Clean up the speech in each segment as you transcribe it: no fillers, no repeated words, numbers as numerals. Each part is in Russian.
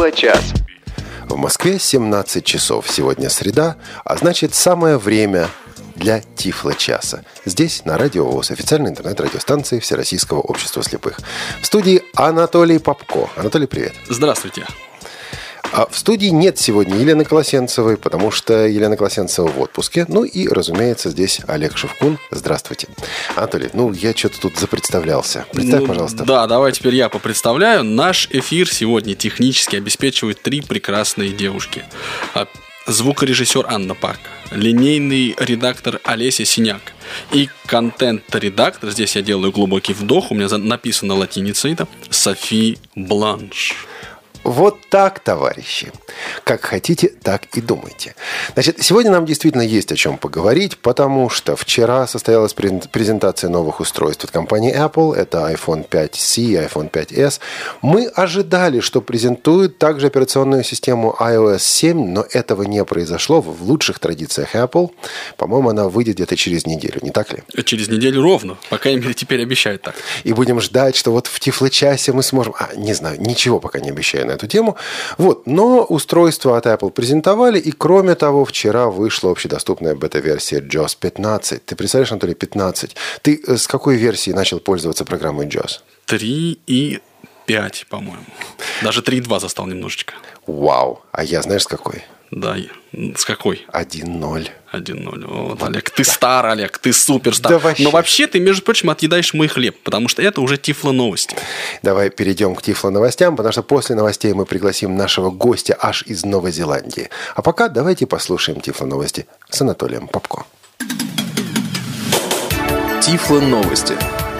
Тифло-час. В Москве 17 часов. Сегодня среда, а значит самое время для Тифло-часа. Здесь, на Радио ВОС, официальной интернет-радиостанции Всероссийского общества слепых. В студии Анатолий Попко. Анатолий, привет. Здравствуйте. А в студии нет сегодня Елены Колосенцевой, потому что Елена Колосенцева в отпуске. Ну и, разумеется, здесь Олег Шевкун. Здравствуйте. Анатолий, я что-то тут запредставлялся. Представь, пожалуйста. Да, давай теперь я попредставляю. Наш эфир сегодня технически обеспечивают три прекрасные девушки. Звукорежиссер Анна Пак, линейный редактор Олеся Синяк и контент-редактор, здесь я делаю глубокий вдох, у меня написано латиницей, это Софи Бланш. Вот так, товарищи. Как хотите, так и думайте. Значит, сегодня нам действительно есть о чем поговорить, потому что вчера состоялась презентация новых устройств от компании Apple. Это iPhone 5C и iPhone 5s. Мы ожидали, что презентуют также операционную систему iOS 7, но этого не произошло в лучших традициях Apple. По-моему, она выйдет где-то через неделю, не так ли? Через неделю ровно. По крайней мере, теперь обещают так. И будем ждать, что вот в Тифло-часе мы сможем... Не знаю, ничего пока не обещаю на эту тему. Но устройство от Apple презентовали, и кроме того, вчера вышла общедоступная бета-версия JAWS 15. Ты представляешь, Анатолий, 15? Ты с какой версии начал пользоваться программой JAWS? 3.5, по-моему. Даже 3.2 застал немножечко. Вау! А я знаешь, с какой? Да, с какой? 1.0. 1.0. Вот, Олег, ты стар, Олег, ты суперстар. Да, но вообще ты, между прочим, отъедаешь мой хлеб, потому что это уже Тифло-новости. Давай перейдем к Тифло-новостям, потому что после новостей мы пригласим нашего гостя аж из Новой Зеландии. А пока давайте послушаем Тифло-новости с Анатолием Попко. Тифло-новости.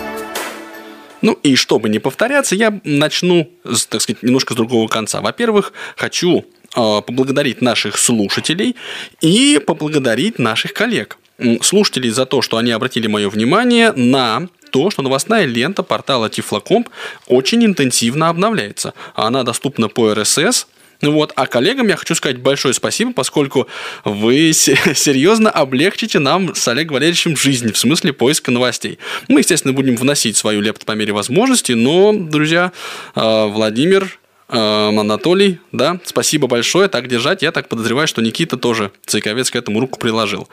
И чтобы не повторяться, я начну, так сказать, немножко с другого конца. Во-первых, хочу поблагодарить наших слушателей и поблагодарить наших коллег. Слушателей за то, что они обратили мое внимание на то, что новостная лента портала Тифлокомп очень интенсивно обновляется. Она доступна по RSS. А коллегам я хочу сказать большое спасибо, поскольку вы серьезно облегчите нам с Олегом Валерьевичем жизнь в смысле поиска новостей. Мы, естественно, будем вносить свою лепту по мере возможности, но, друзья, Владимир, Анатолий, да, спасибо большое, так держать. Я так подозреваю, что Никита тоже, Цейковец, к этому руку приложил.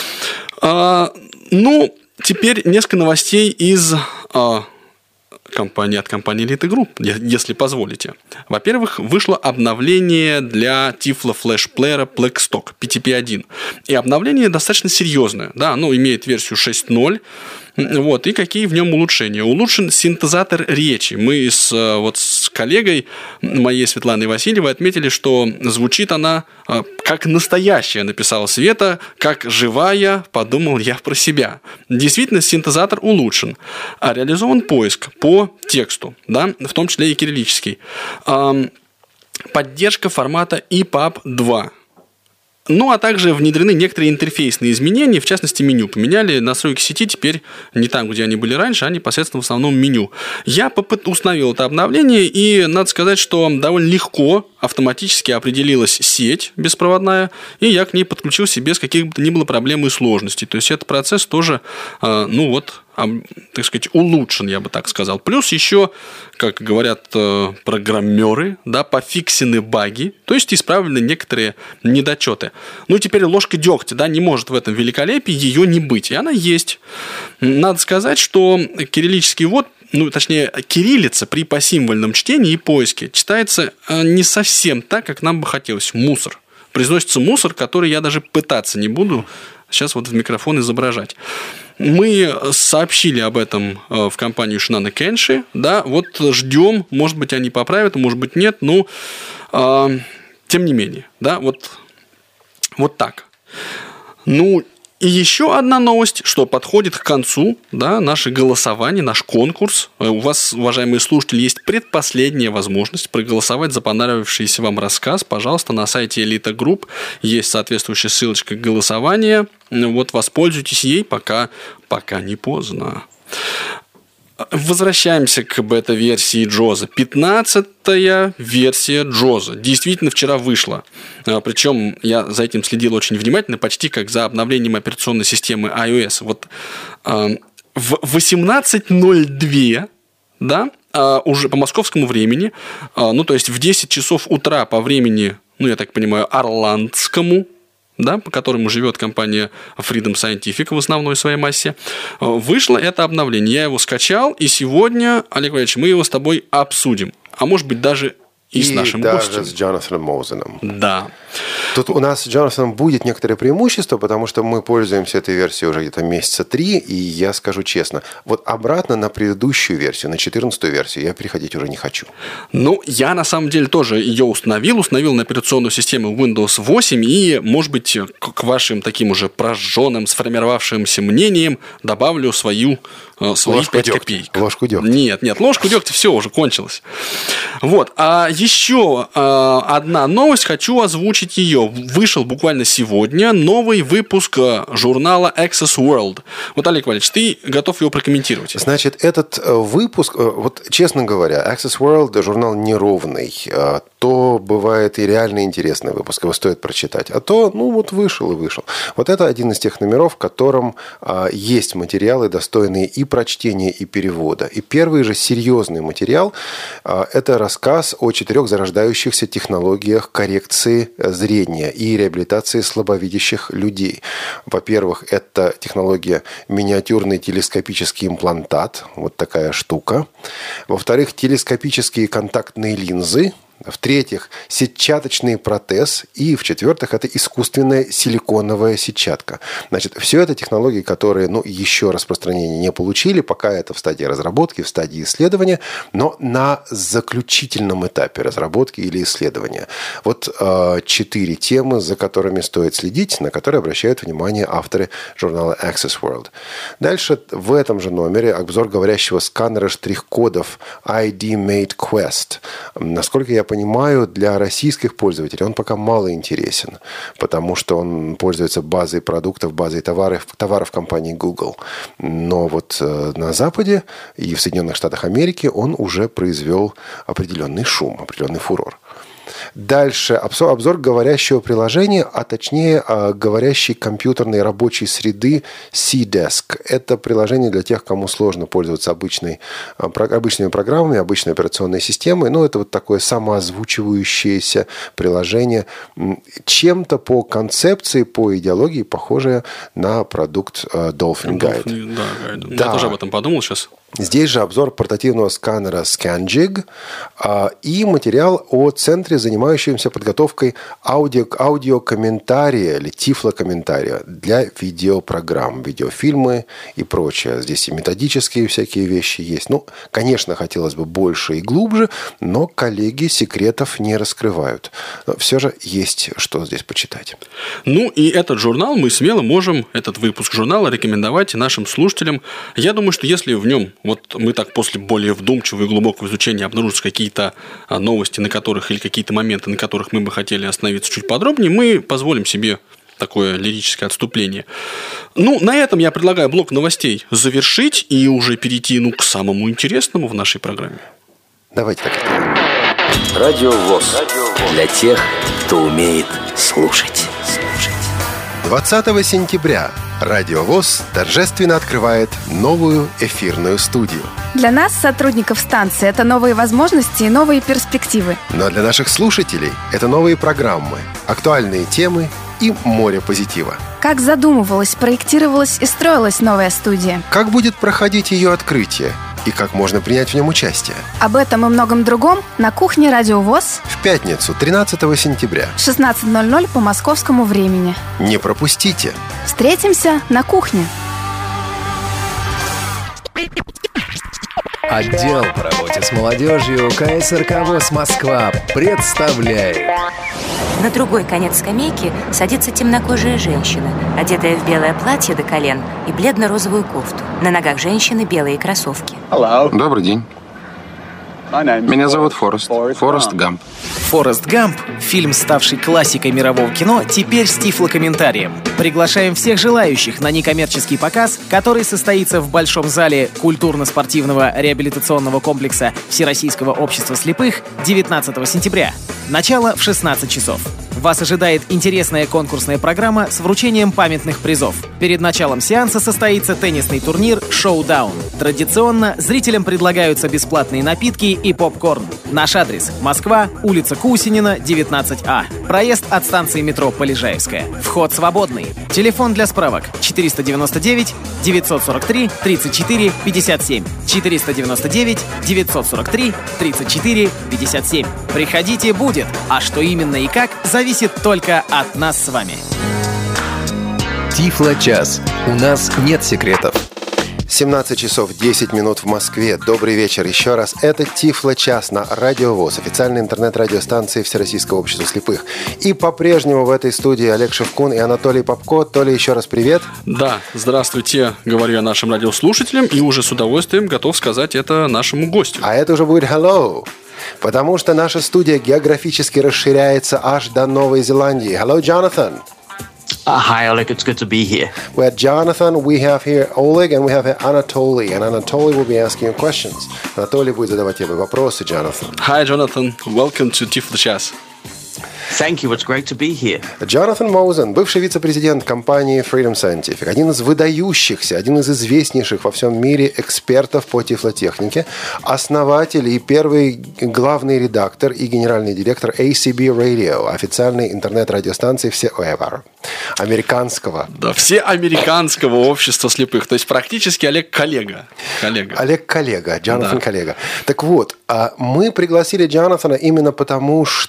Теперь несколько новостей из... от компании Elite Group, если позволите. Во-первых, вышло обновление для Tiflo Flash Player Blackstock PTP-1. И обновление достаточно серьезное. Да, оно имеет версию 6.0. И какие в нем улучшения? Улучшен синтезатор речи. Мы с коллегой моей Светланой Васильевой отметили, что звучит она как настоящая, написала Света, как живая, подумал я про себя. Действительно, синтезатор улучшен. А реализован поиск по тексту, да, в том числе и кириллический. Поддержка формата EPUB 2. А также внедрены некоторые интерфейсные изменения, в частности, меню. Поменяли настройки сети, теперь не там, где они были раньше, а непосредственно в основном меню. Я установил это обновление, и надо сказать, что довольно легко автоматически определилась сеть беспроводная, и я к ней подключился без каких бы то ни было проблем и сложностей. То есть, этот процесс тоже, так сказать, улучшен, я бы так сказал. Плюс еще, как говорят программеры, да, пофиксены баги, то есть исправлены некоторые недочеты. Теперь ложка дегтя, да, не может в этом великолепии ее не быть, и она есть. Надо сказать, что кириллический ввод, точнее, кириллица при посимвольном чтении и поиске читается не совсем так, как нам бы хотелось. Мусор. Произносится мусор, который я даже пытаться не буду сейчас в микрофон изображать. Мы сообщили об этом в компанию Shinano Kenshi, да, ждем, может быть, они поправят, может быть, нет, тем не менее, да, вот так. И еще одна новость, что подходит к концу, да, наше голосование, наш конкурс. У вас, уважаемые слушатели, есть предпоследняя возможность проголосовать за понравившийся вам рассказ. Пожалуйста, на сайте Elite Group есть соответствующая ссылочка к голосованию. Воспользуйтесь ей, пока не поздно. Возвращаемся к бета-версии JAWS. 15-я версия JAWS действительно вчера вышла. Причем я за этим следил очень внимательно, почти как за обновлением операционной системы iOS. В 18.02, да, уже по московскому времени, то есть в 10 часов утра по времени, я так понимаю, орландскому, да, по которому живет компания Freedom Scientific в основной своей массе, вышло это обновление. Я его скачал, и сегодня, Олег Валерьевич, мы его с тобой обсудим. А может быть, даже и с нашим гостем. Даже с Джонатаном Моузеном. Да. Тут у нас с Джонатаном будет некоторое преимущество, потому что мы пользуемся этой версией уже где-то месяца 3, и я скажу честно, вот обратно на предыдущую версию, на 14-ю версию, я переходить уже не хочу. Я на самом деле тоже ее установил на операционную систему Windows 8, и, может быть, к вашим таким уже прожженным, сформировавшимся мнениям добавлю свои 5 копеек. Ложку дегтя. Нет, ложку дегтя все уже кончилось. Вот. А еще одна новость, хочу озвучить ее. Вышел буквально сегодня новый выпуск журнала Access World. Вот, Олег Валерьевич, ты готов его прокомментировать? Значит, этот выпуск, вот честно говоря, Access World журнал неровный. То бывает и реально интересный выпуск, его стоит прочитать. А то, вышел и вышел. Вот это один из тех номеров, в котором есть материалы, достойные и прочтения, и перевода. И первый же серьезный материал – это рассказ о 4 зарождающихся технологиях коррекции зрения и реабилитации слабовидящих людей. Во-первых, это технология миниатюрный телескопический имплантат, вот такая штука. Во-вторых, телескопические контактные линзы. В-третьих, сетчаточный протез. И в-четвертых, это искусственная силиконовая сетчатка. Значит, все это технологии, которые еще распространения не получили. Пока это в стадии разработки, в стадии исследования, но на заключительном этапе разработки или исследования. Вот 4 темы, за которыми стоит следить, на которые обращают внимание авторы журнала Access World. Дальше в этом же номере обзор говорящего сканера штрих-кодов ID-Mate Quest. Насколько я понимаю, для российских пользователей он пока мало интересен, потому что он пользуется базой продуктов, базой товаров компании Google. Но вот на Западе и в Соединенных Штатах Америки он уже произвел определенный шум, определенный фурор. Дальше обзор говорящего приложения, а точнее говорящей компьютерной рабочей среды C-Desk. Это приложение для тех, кому сложно пользоваться обычными программами, обычной операционной системой. Это вот такое самоозвучивающееся приложение, чем-то по концепции, по идеологии похожее на продукт Dolphin Guide. Да. Я тоже об этом подумал сейчас. Здесь же обзор портативного сканера ScanJig и материал о центре, занимающемся подготовкой аудиокомментария или тифлокомментария для видеопрограмм, видеофильмы и прочее. Здесь и методические всякие вещи есть. Конечно, хотелось бы больше и глубже, но коллеги секретов не раскрывают. Но все же есть что здесь почитать. И этот журнал мы смело можем, этот выпуск журнала рекомендовать нашим слушателям. Я думаю, что если в нем мы так после более вдумчивого и глубокого изучения обнаружатся какие-то новости, на которых или какие-то моменты, на которых мы бы хотели остановиться чуть подробнее, мы позволим себе такое лирическое отступление. На этом я предлагаю блок новостей завершить и уже перейти к самому интересному в нашей программе. Давайте так сделаем. Радио ВОС. Для тех, кто умеет слушать. 20 сентября Радио ВОС торжественно открывает новую эфирную студию. Для нас, сотрудников станции, это новые возможности и новые перспективы. Но для наших слушателей это новые программы, актуальные темы и море позитива. Как задумывалась, проектировалась и строилась новая студия? Как будет проходить ее открытие? И как можно принять в нем участие? Об этом и многом другом на кухне Радио ВОС в пятницу, 13 сентября, 16:00 по московскому времени. Не пропустите! Встретимся на кухне. Отдел по работе с молодежью КСРК ВОС Москва представляет. На другой конец скамейки садится темнокожая женщина, одетая в белое платье до колен и бледно-розовую кофту. На ногах женщины белые кроссовки. Добрый день. Меня зовут Форест Гамп. «Форест Гамп» — фильм, ставший классикой мирового кино, теперь с тифлокомментарием. Приглашаем всех желающих на некоммерческий показ, который состоится в Большом зале культурно-спортивного реабилитационного комплекса Всероссийского общества слепых 19 сентября. Начало в 16 часов. Вас ожидает интересная конкурсная программа с вручением памятных призов. Перед началом сеанса состоится теннисный турнир «Шоудаун». Традиционно зрителям предлагаются бесплатные напитки и попкорн. Наш адрес – Москва, улица Кусинина, 19А. Проезд от станции метро Полежаевская. Вход свободный. Телефон для справок 499 943 34 57. 499 943 34 57. Приходите, будет. А что именно и как, зависит только от нас с вами. Тифло-час. У нас нет секретов. 17 часов 10 минут в Москве. Добрый вечер еще раз. Это Тифло-час на Радио ВОС, официальной интернет-радиостанции Всероссийского общества слепых. И по-прежнему в этой студии Олег Шевкун и Анатолий Попко. Толя, еще раз привет. Да, здравствуйте, говорю я нашим радиослушателям, и уже с удовольствием готов сказать это нашему гостю. А это уже будет hello. Потому что наша студия географически расширяется аж до Новой Зеландии. Hello, Jonathan. Hi, Oleg. It's good to be here. We have Jonathan, we have here Oleg, and we have here Anatoly. And Anatoly will be asking you questions. Anatoly будет задавать тебе вопросы, Jonathan. Hi, Jonathan. Welcome to Тифло-час. Thank you. It's great to be here. Джонатан Моузен, бывший вице-президент компании Freedom Scientific, один из выдающихся, один из известнейших во всем мире экспертов по тифлотехнике, основатель и первый главный редактор и генеральный директор ACB Radio, официальной интернет-радиостанции всеэвер, американского. Да, всеамериканского общества слепых. То есть практически Олег коллега. Олег коллега, Джонатан да. коллега. Так вот, мы пригласили Джонатана именно потому, что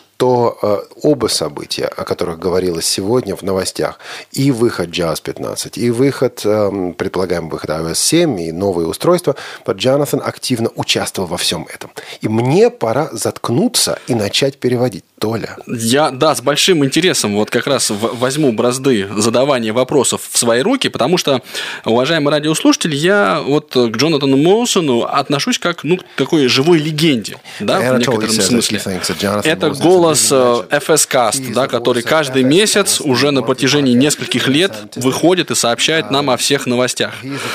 оба события, о которых говорилось сегодня в новостях, и выход JAWS 15, и выход, предполагаемый выход iOS 7, и новые устройства, Джонатан активно участвовал во всем этом. И мне пора заткнуться и начать переводить. Толя. Я, да, с большим интересом вот как раз возьму бразды задавания вопросов в свои руки, потому что, уважаемый радиослушатель, я вот к Джонатану Моусону отношусь как, к такой живой легенде, да, в некотором смысле. Это голос FS-Cast, да, который каждый месяц уже на протяжении нескольких лет выходит и сообщает нам о всех новостях.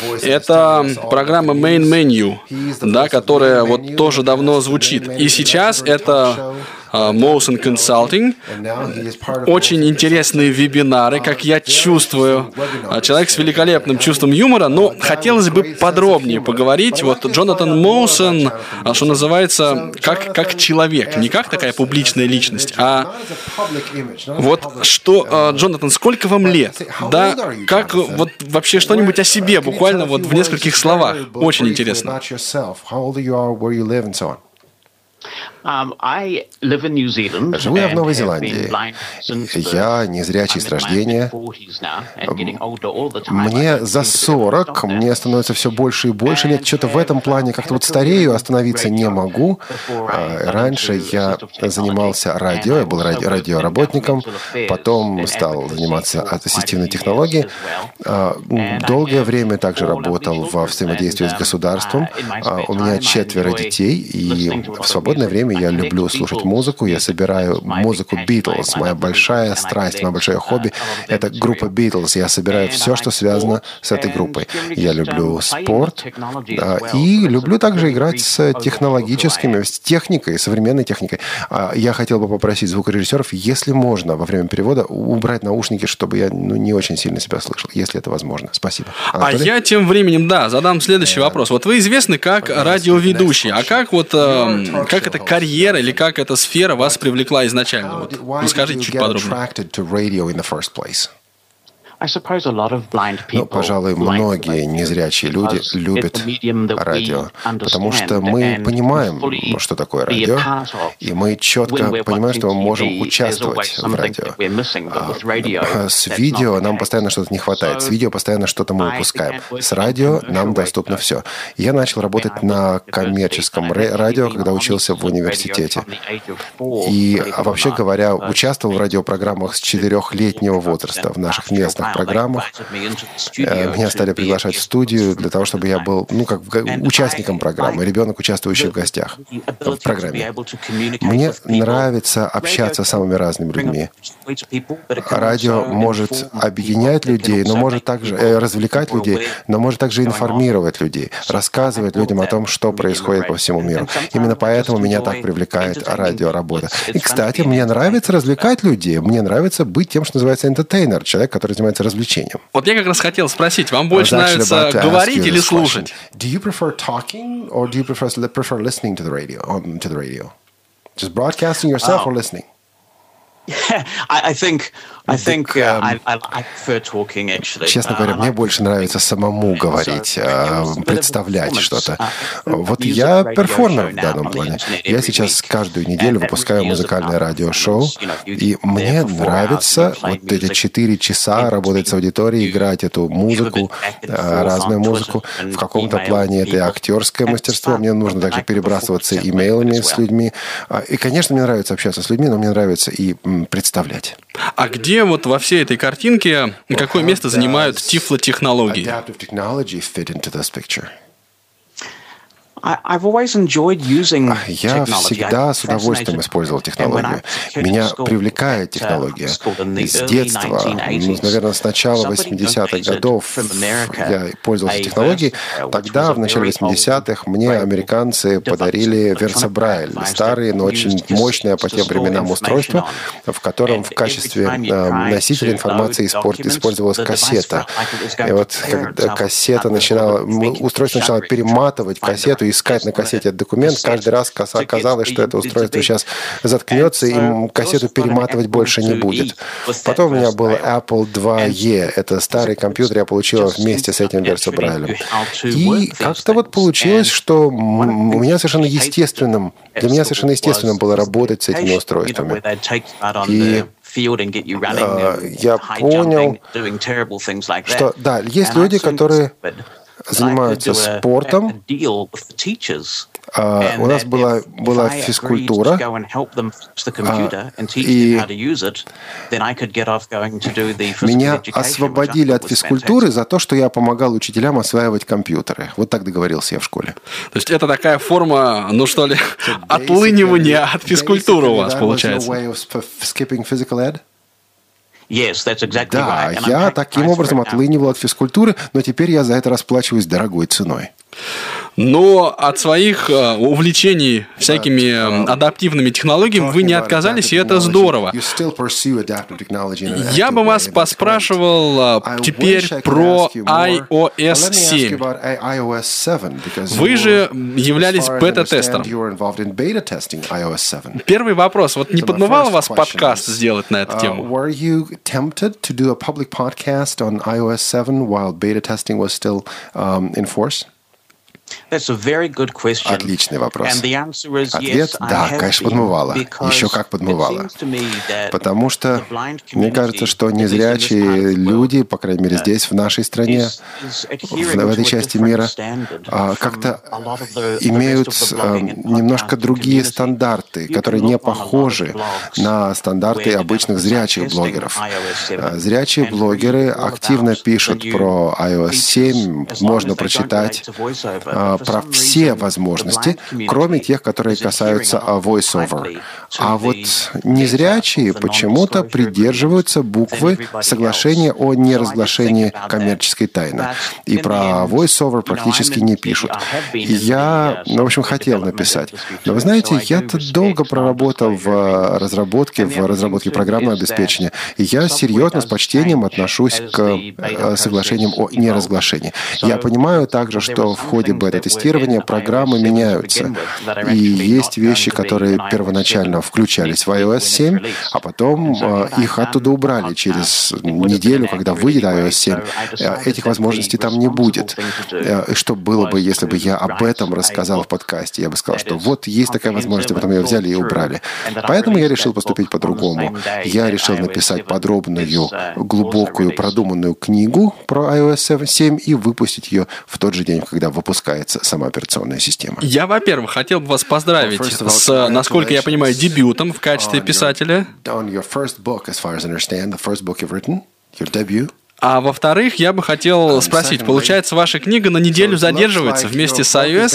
Это программа Main Menu, да, которая вот тоже давно звучит. И сейчас это Motion Consulting. Очень интересные вебинары, как я чувствую. Человек с великолепным чувством юмора, но хотелось бы подробнее поговорить. Вот Джонатан Моусон, что называется, как человек, не как такая публичная личность, а вот что, Джонатан, сколько вам лет? Да, как вот вообще что-нибудь о себе, буквально вот в нескольких словах. Очень интересно. Живу я в Новой Зеландии. Я незрячий с рождения. Мне за 40, мне становится все больше и больше лет. Что-то в этом плане как-то вот старею, остановиться не могу. Раньше я занимался радио, я был радиоработником, потом стал заниматься ассистивной технологией. Долгое время также работал во взаимодействии с государством. У меня 4 детей, и в свободное время я люблю слушать музыку. Я собираю музыку Beatles. Моя большая страсть, мое большое хобби — это группа Beatles. Я собираю все, что связано с этой группой. Я люблю спорт и люблю также играть с технологическими, с техникой, современной техникой. Я хотел бы попросить звукорежиссеров, если можно, во время перевода убрать наушники, чтобы я не очень сильно себя слышал, если это возможно. Спасибо. Анатолий? А я тем временем, задам следующий вопрос. Вот вы известны как радиоведущий, а как вот как эта карьера или как эта сфера вас привлекла изначально? Вот расскажите чуть подробнее. Пожалуй, многие незрячие люди любят радио, потому что мы понимаем, что такое радио, и мы четко понимаем, что мы можем участвовать в радио. С видео нам постоянно что-то не хватает, с видео постоянно что-то мы упускаем. С радио нам доступно все. Я начал работать на коммерческом радио, когда учился в университете. И, вообще говоря, участвовал в радиопрограммах с 4-летнего возраста в наших местных программах. Меня стали приглашать в студию для того, чтобы я был, участником программы, ребенок, участвующий в гостях в программе. Мне нравится общаться с самыми разными людьми. Радио может объединять людей, но может также развлекать людей, но может также информировать людей, рассказывать людям о том, что происходит по всему миру. Именно поэтому меня так привлекает радиоработа. И, кстати, мне нравится развлекать людей. Мне нравится быть тем, что называется entertainer, человек, который занимается развлечением. Вот я как раз хотел спросить, вам больше нравится говорить или слушать? Do you prefer talking or do you prefer listening to the radio? Just broadcasting yourself or listening? I think I prefer talking, actually. Честно говоря, мне больше нравится самому говорить, представлять что-то. Вот я перформер в данном плане. Я сейчас каждую неделю выпускаю музыкальное радиошоу, и мне нравится вот эти 4 часа работать с аудиторией, играть эту музыку, разную музыку. В каком-то плане это и актерское мастерство. Мне нужно также перебрасываться имейлами с людьми. И, конечно, мне нравится общаться с людьми, но мне нравится и представлять. А где вот во всей этой картинке какое место занимают тифлотехнологии? Я всегда с удовольствием использовал технологию. Меня привлекает технология. С детства, наверное, с начала 80-х годов я пользовался технологией. Тогда, в начале 80-х, мне американцы подарили Версабрайль. Старые, но очень мощное по тем временам устройство, в котором в качестве носителя информации использовалась кассета. И вот когда устройство начинало перематывать кассету, искать на кассете этот документ, каждый раз казалось, что это устройство сейчас заткнется, и кассету перематывать больше не будет. Потом у меня был Apple IIe. Это старый компьютер я получила вместе с этим Версабрайлем. И как-то вот получилось, что для меня совершенно естественным было работать с этими устройствами. И я понял, что да, есть люди, которые занимаются спортом. У нас была физкультура, и меня освободили от физкультуры за то, что я помогал учителям осваивать компьютеры. Вот так договорился я в школе. То есть это такая форма, отлынивания от физкультуры у вас получается. Да, я таким образом отлынивал от физкультуры, но теперь я за это расплачиваюсь дорогой ценой. Но от своих увлечений всякими адаптивными технологиями вы не отказались, и это здорово. Я бы вас поспрашивал теперь про iOS 7. Вы же являлись бета-тестером. Первый вопрос. Вот не подмывало вас подкаст сделать на эту тему? Отличный вопрос. Ответ – да, конечно, подмывало. Еще как подмывало. Потому что мне кажется, что незрячие люди, по крайней мере здесь, в нашей стране, в этой части мира, как-то имеют немножко другие стандарты, которые не похожи на стандарты обычных зрячих блогеров. Зрячие блогеры активно пишут про iOS 7, можно прочитать про все возможности, кроме тех, которые касаются voice-over. А вот незрячие почему-то придерживаются буквы соглашения о неразглашении коммерческой тайны. И про voice-over практически не пишут. И я, в общем, хотел написать. Но вы знаете, я-то долго проработал в разработке программного обеспечения. И я серьезно, с почтением отношусь к соглашениям о неразглашении. Я понимаю также, что в ходе бета-тестирования программы меняются. И есть вещи, которые первоначально включались в iOS 7, а потом их оттуда убрали через неделю, когда выйдет iOS 7. Этих возможностей там не будет. И что было бы, если бы я об этом рассказал в подкасте? Я бы сказал, что вот есть такая возможность, а потом ее взяли и убрали. Поэтому я решил поступить по-другому. Я решил написать подробную, глубокую, продуманную книгу про iOS 7 и выпустить ее в тот же день, когда выпускается сама операционная система. Я, во-первых, хотел бы вас поздравить с, насколько я понимаю, дебютом в качестве писателя. А во-вторых, я бы хотел спросить, получается, ваша книга на неделю задерживается вместе с iOS?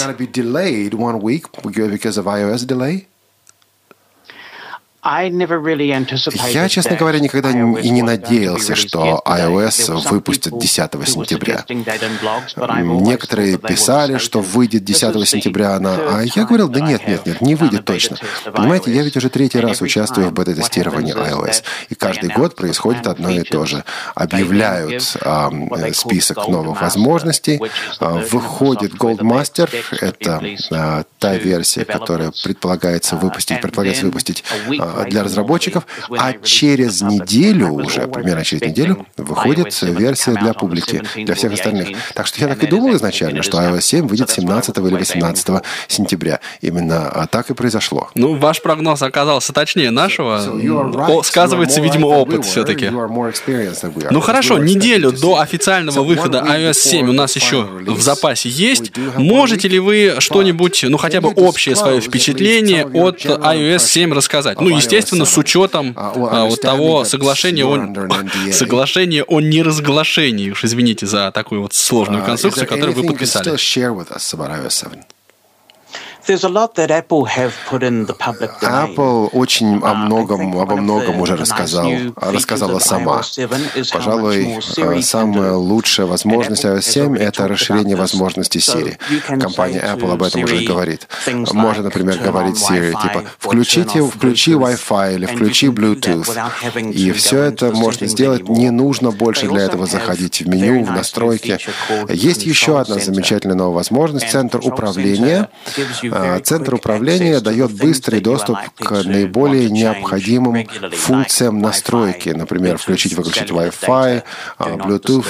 Я, честно говоря, никогда и не надеялся, что iOS выпустит 10 сентября. Некоторые писали, что выйдет 10 сентября она, а я говорил, да нет, не выйдет точно. Понимаете, я ведь уже 3-й раз участвую в бета-тестировании iOS, и каждый год происходит одно и то же. Объявляют список новых возможностей, выходит Gold Master, это та версия, которая предполагается выпустить для разработчиков, а через неделю уже, примерно через неделю, выходит версия для публики, для всех остальных. Так что я так и думал изначально, что iOS 7 выйдет 17 или 18 сентября. Именно так и произошло. Ну, ваш прогноз оказался точнее нашего. Сказывается, видимо, опыт все-таки. Ну хорошо, неделю до официального выхода iOS 7 у нас еще в запасе есть. Можете ли вы что-нибудь, ну хотя бы общее свое впечатление от iOS 7 рассказать? Ну, естественно, с учетом вот того соглашения о неразглашении, уж извините за такую вот сложную конструкцию, которую вы подписали. Apple очень обо многом уже рассказала сама. Пожалуй, самая лучшая возможность iOS 7 — это расширение возможностей Siri. Компания Apple об этом уже говорит. Можно, например, говорить Siri, типа, включи Wi-Fi или включи Bluetooth. И все это можно сделать, не нужно больше для этого заходить в меню, в настройки. Есть еще одна замечательная новая возможность — центр управления. Центр управления дает быстрый доступ к наиболее необходимым функциям настройки. Например, включить-выключить Wi-Fi, Bluetooth,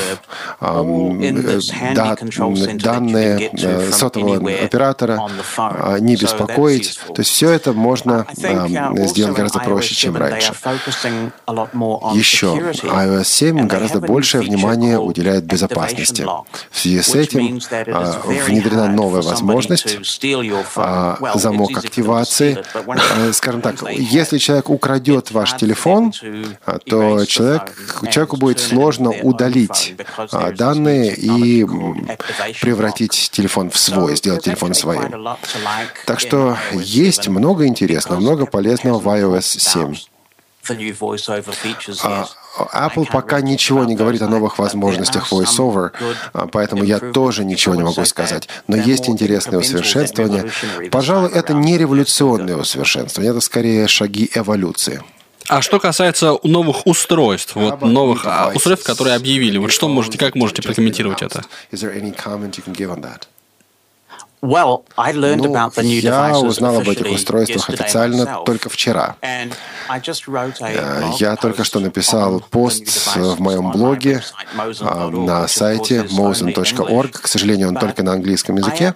данные сотового оператора, не беспокоить. То есть все это можно сделать гораздо проще, чем раньше. Еще iOS 7 гораздо большее внимание уделяет безопасности. В связи с этим внедрена новая возможность замок активации. Скажем так, если человек украдет ваш телефон, то человеку будет сложно удалить данные и превратить телефон в свой, сделать телефон своим. Так что есть много интересного, много полезного в iOS 7. Apple пока ничего не говорит о новых возможностях VoiceOver, поэтому я тоже ничего не могу сказать. Но есть интересные усовершенствования. Пожалуй, это не революционные усовершенствования, это скорее шаги эволюции. А что касается новых устройств, новых устройств, которые объявили, как можете прокомментировать это? Я узнал об этих устройствах официально только вчера. Я только что написал пост в моем блоге на сайте mosen.org. К сожалению, он только на английском языке.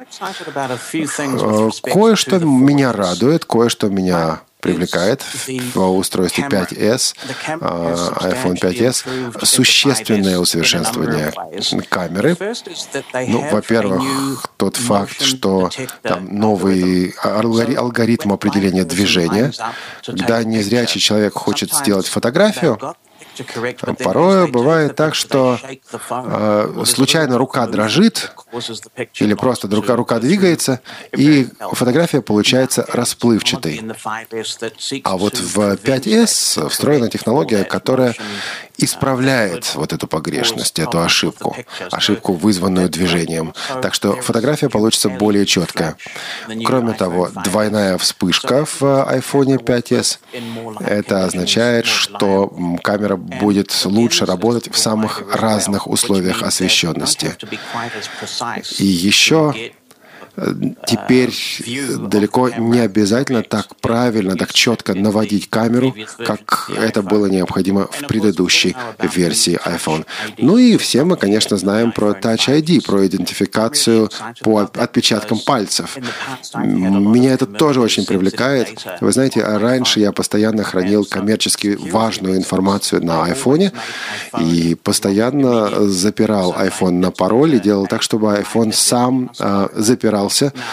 Кое-что меня радует, кое-что меня привлекает в устройстве 5S, iPhone 5S, существенное усовершенствование камеры. Ну, во-первых, тот факт, что там новый алгоритм определения движения. Когда незрячий человек хочет сделать фотографию, порой бывает так, что случайно рука дрожит или просто рука двигается, и фотография получается расплывчатой. А вот в 5S встроена технология, которая исправляет вот эту погрешность, эту ошибку, вызванную движением. Так что фотография получится более четкая. Кроме того, двойная вспышка в iPhone 5S. Это означает, что камера будет лучше работать в самых разных условиях освещенности. И еще теперь далеко не обязательно так правильно, так четко наводить камеру, как это было необходимо в предыдущей версии iPhone. Ну и все мы, конечно, знаем про Touch ID, про идентификацию по отпечаткам пальцев. Меня это тоже очень привлекает. Вы знаете, раньше я постоянно хранил коммерчески важную информацию на iPhone и постоянно запирал iPhone на пароль и делал так, чтобы iPhone сам запирался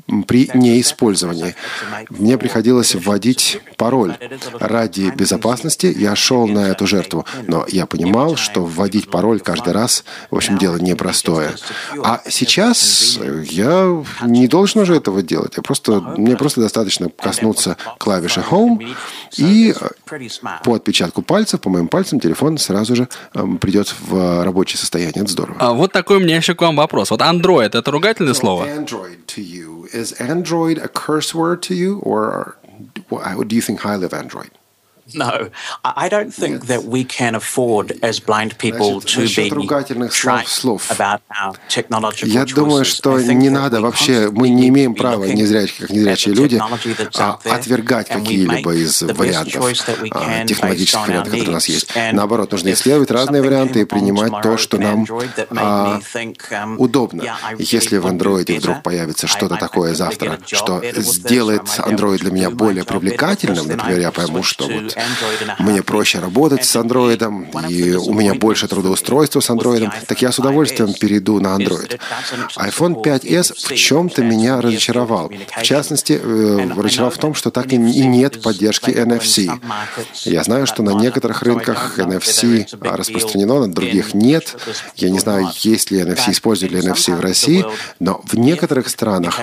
при неиспользовании. Мне приходилось вводить пароль. Ради безопасности я шел на эту жертву, но я понимал, что вводить пароль каждый раз, в общем, дело непростое. А сейчас я не должен уже этого делать. Мне просто достаточно коснуться клавиши Home, и по отпечатку пальцев, по моим пальцам, телефон сразу же придет в рабочее состояние. Это здорово. А вот такой у меня еще к вам вопрос. Вот Android — это ругательное слово? Android to you. Is Android a curse word to you, or do you think highly of Android? No, I don't think that we can afford, as blind people, to be trite about our technological choices. Я думаю, что не надо вообще, мы не имеем права, как незрячие люди, отвергать какие-либо из вариантов, технологических вариантов, которые у нас есть. Наоборот, нужно исследовать разные варианты и принимать то, что нам удобно. Если в Android вдруг появится что-то такое завтра, что сделает Android для меня более привлекательным, например, я пойму, что вот мне проще работать с Android, и у меня больше трудоустройства с Android, так я с удовольствием перейду на Android. iPhone 5s в чем-то меня разочаровал. В частности, разочаровал в том, что так и нет поддержки NFC. Я знаю, что на некоторых рынках NFC распространено, на других нет. Я не знаю, есть ли NFC, используют ли NFC в России, но в некоторых странах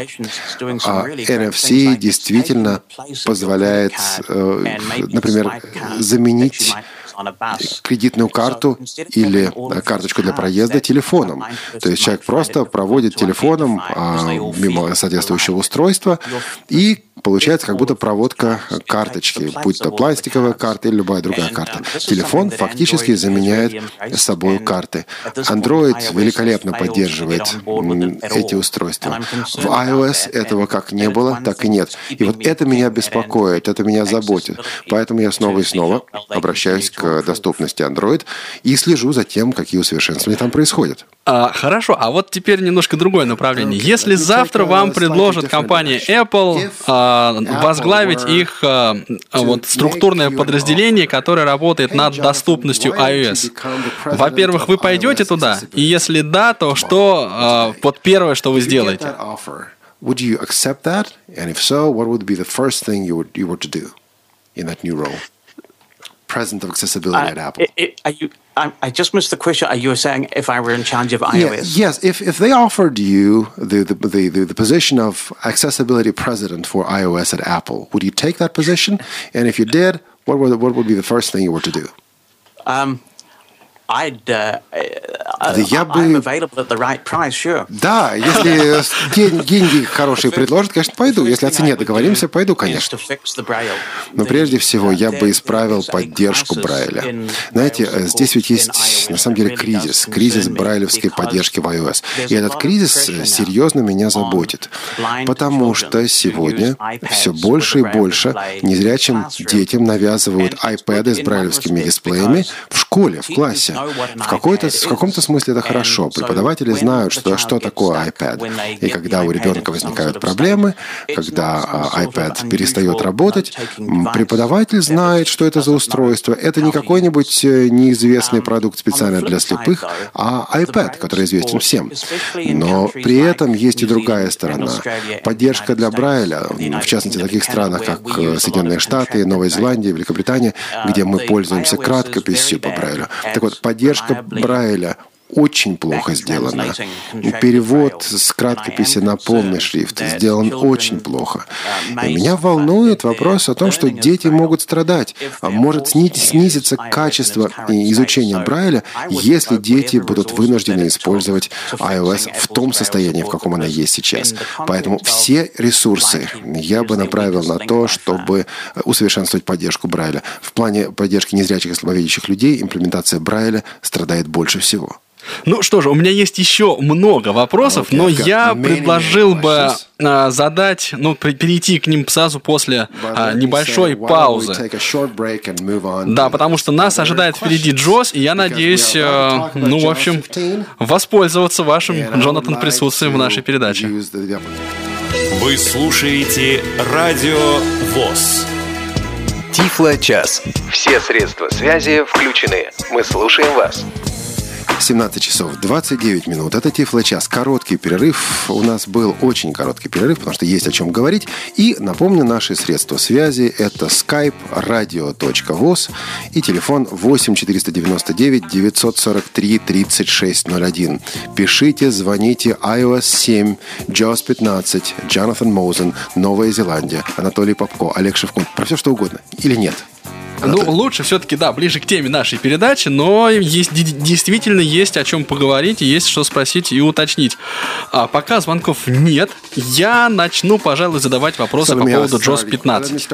NFC действительно позволяет, например, заменить кредитную карту или карточку для проезда телефоном. То есть человек просто проводит телефоном мимо соответствующего устройства, и получается как будто проводка карточки, будь то пластиковая карта или любая другая карта. Телефон фактически заменяет собой карты. Android великолепно поддерживает эти устройства. В iOS этого как не было, так и нет. И вот это меня беспокоит, это меня заботит. Поэтому я снова и снова обращаюсь к доступности Android и слежу за тем, какие усовершенствования там происходят. Хорошо, а вот теперь немножко другое направление. Если завтра вам предложит компания Apple возглавить их вот структурное подразделение, которое работает над доступностью iOS, во-первых, вы пойдете туда? И если да, то что вот первое, что вы сделаете? Would you accept that? And if so, what would be the first thing you were to do in that new role? President of accessibility at Apple. I just missed the question. Are you saying if I were in charge of iOS? Yes. If they offered you the position of accessibility president for iOS at Apple, would you take that position? And if you did, what would be the first thing you were to do? I'm available at the right price, sure. Да, если деньги хорошие предложат, конечно, пойду. Если о цене договоримся, пойду, конечно. Но прежде всего я бы исправил поддержку Брайля. Знаете, здесь ведь есть, на самом деле, кризис брайлевской поддержки в iOS. И этот кризис серьезно меня заботит. Потому что сегодня все больше и больше незрячим детям навязывают iPad с брайлевскими дисплеями в школе, в классе. В каком-то смысле это хорошо. Преподаватели знают, что такое iPad. И когда у ребенка возникают проблемы, когда iPad перестает работать, преподаватель знает, что это за устройство. Это не какой-нибудь неизвестный продукт специально для слепых, а iPad, который известен всем. Но при этом есть и другая сторона. Поддержка для Брайля, в частности, в таких странах, как Соединенные Штаты, Новая Зеландия, Великобритания, где мы пользуемся краткописью по Брайлю. Так вот, поддержка Брайля очень плохо сделана. Перевод с краткописи на полный шрифт сделан очень плохо. И меня волнует вопрос о том, что дети могут страдать. Может снизиться качество изучения Брайля, если дети будут вынуждены использовать iOS в том состоянии, в каком она есть сейчас. Поэтому все ресурсы я бы направил на то, чтобы усовершенствовать поддержку Брайля. В плане поддержки незрячих и слабовидящих людей имплементация Брайля страдает больше всего. Ну что же, у меня есть еще много вопросов, но я предложил бы перейти к ним сразу после небольшой паузы. Да, потому что нас ожидает впереди Джос, и я надеюсь, воспользоваться вашим, Джонатан, присутствием в нашей передаче. Вы слушаете Радио ВОС. Тифло-час. Все средства связи включены. Мы слушаем вас. 17 часов 29 минут. Это Тифло-час. Короткий перерыв. У нас был очень короткий перерыв, потому что есть о чем говорить. И напомню, наши средства связи – это skype radio.voz и телефон 8 499 943 3601. Пишите, звоните. iOS 7, JAWS 15, Джонатан Моузен, Новая Зеландия, Анатолий Попко, Олег Шевкун. Про все, что угодно. Или нет? Ну, лучше все-таки, да, ближе к теме нашей передачи, но действительно есть о чем поговорить, и есть что спросить и уточнить. А пока звонков нет, я начну, пожалуй, задавать вопросы по поводу JAWS 15.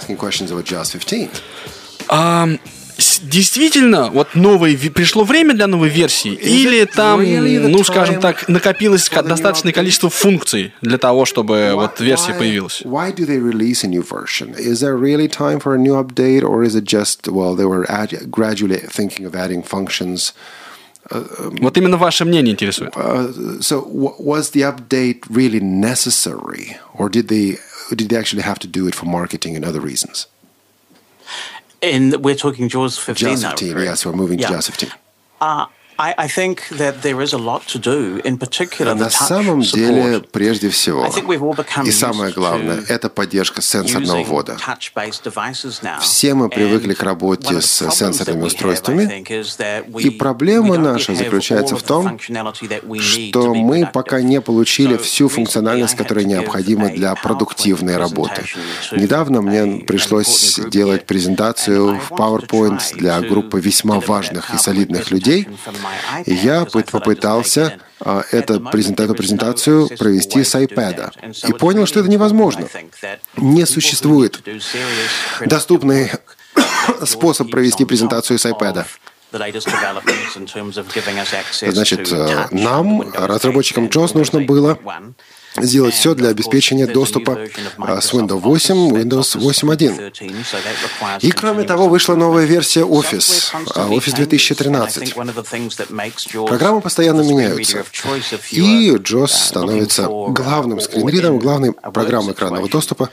Действительно, вот пришло время для новой версии, или там, ну, скажем так, накопилось достаточное количество функций для того, чтобы вот версия появилась? Why do they release a new version? Is there really time for a new update, or is it just, well, they were gradually thinking of adding functions? Вот именно ваше мнение интересует. So, was the update really necessary, or did they actually have to do it for marketing and other reasons? We're talking JAWS 15 now. JAWS 15, yes, we're moving to JAWS 15. I think that there is a lot to do, in particular the touch support. На самом деле, прежде всего, и самое главное, это поддержка сенсорного ввода. Все мы привыкли к работе с сенсорными устройствами, и проблема наша заключается в том, что мы пока не получили всю функциональность, которая необходима для продуктивной работы. Недавно мне пришлось делать презентацию в PowerPoint для группы весьма важных и солидных людей. Я попытался эту презентацию провести с iPad и понял, что это невозможно. Не существует доступный способ провести презентацию с iPad. Значит, нам, разработчикам JAWS, нужно было сделать все для обеспечения доступа с Windows 8, Windows 8.1. И, кроме того, вышла новая версия Office, Office 2013. Программы постоянно меняются. И JAWS становится главным скринридером, главной программой экранного доступа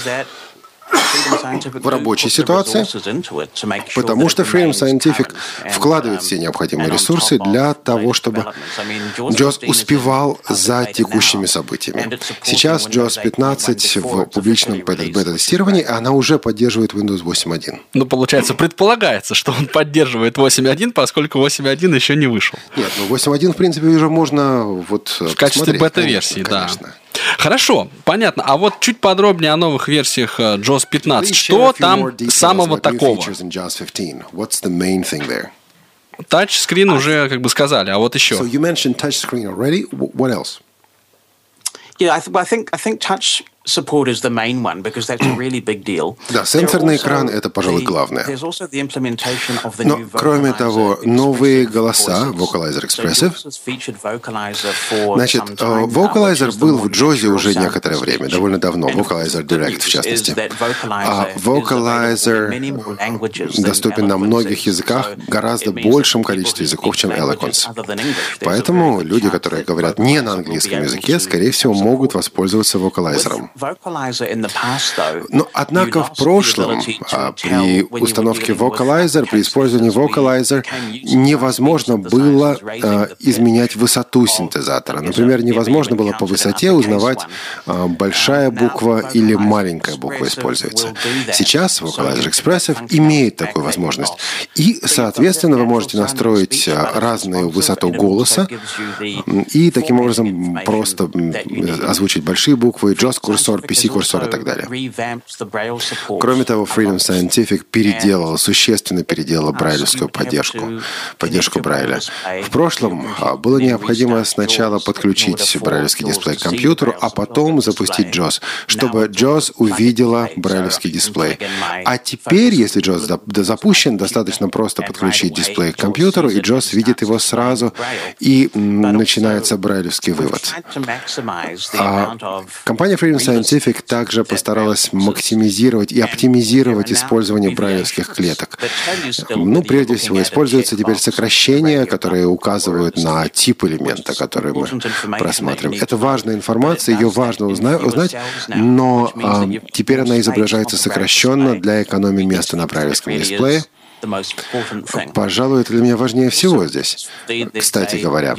в рабочей ситуации, потому что Freedom Scientific вкладывает все необходимые ресурсы для того, чтобы JAWS успевал за текущими событиями. Сейчас JAWS 15 в публичном бета-тестировании, она уже поддерживает Windows 8.1. Ну, получается, предполагается, что он поддерживает 8.1, поскольку 8.1 еще не вышел. Нет, ну 8.1, в принципе, уже можно в качестве бета-версии, да. Хорошо, понятно. А вот чуть подробнее о новых версиях JAWS 15. Что там самого такого? Тачскрин уже как бы сказали, а вот еще. Да, сенсорный экран – это, пожалуй, главное. Но, кроме того, новые голоса, Vocalizer Expressive. Значит, Vocalizer был в JAWS уже некоторое время, довольно давно, Vocalizer Direct, в частности. А Vocalizer доступен на многих языках, гораздо большем количестве языков, чем Eloquence. Поэтому люди, которые говорят не на английском языке, скорее всего, могут воспользоваться Vocalizer. Но, однако, в прошлом при установке Vocalizer, при использовании Vocalizer невозможно было изменять высоту синтезатора. Например, невозможно было по высоте узнавать, большая буква или маленькая буква используется. Сейчас Vocalizer Expressive имеет такую возможность. И, соответственно, вы можете настроить разную высоту голоса и таким образом просто озвучить большие буквы, JAWS-курсор, PC-курсор и так далее. Кроме того, Freedom Scientific существенно переделала брайлевскую поддержку Брайля. В прошлом было необходимо сначала подключить брайлевский дисплей к компьютеру, а потом запустить JAWS, чтобы JAWS увидела брайлевский дисплей. А теперь, если JAWS запущен, достаточно просто подключить дисплей к компьютеру, и JAWS видит его сразу, и начинается брайлевский вывод. Компания Freedom Scientific также постаралась максимизировать и оптимизировать использование брайлевских клеток. Ну, прежде всего, используются теперь сокращения, которые указывают на тип элемента, который мы просматриваем. Это важная информация, ее важно узнать, но теперь она изображается сокращенно для экономии места на брайлевском дисплее. Пожалуй, это для меня важнее всего здесь. Кстати говоря,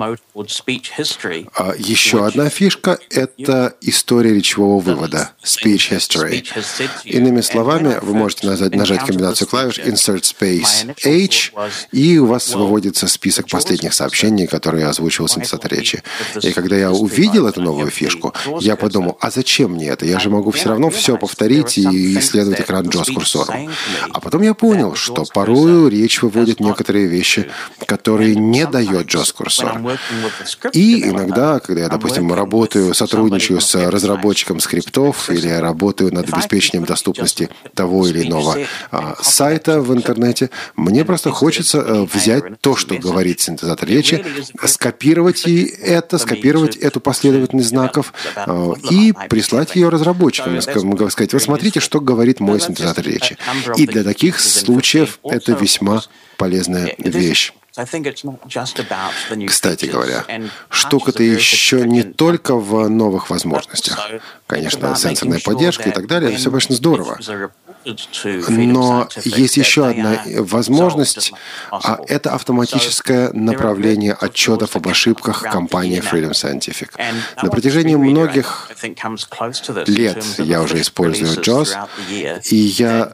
еще одна фишка – это история речевого вывода, speech history. Иными словами, вы можете нажать комбинацию клавиш Insert Space H, и у вас выводится список последних сообщений, которые озвучивал синтезатор речи. И когда я увидел эту новую фишку, я подумал, а зачем мне это? Я же могу все равно все повторить и исследовать экран JAWS курсором. А потом я понял, что порою речь выводит некоторые вещи, которые не дает JAWS курсор. И иногда, когда я, допустим, сотрудничаю с разработчиком скриптов или я работаю над обеспечением доступности того или иного сайта в интернете, мне просто хочется взять то, что говорит синтезатор речи, скопировать эту последовательность знаков и прислать ее разработчикам. Могу сказать, вот смотрите, что говорит мой синтезатор речи. И для таких случаев это весьма полезная вещь. Кстати говоря, штука-то еще не только в новых возможностях. Конечно, сенсорная поддержка и так далее, все, конечно, здорово. Но есть еще одна возможность, это автоматическое направление отчетов об ошибках компании Freedom Scientific. На протяжении многих лет я уже использую JAWS, и я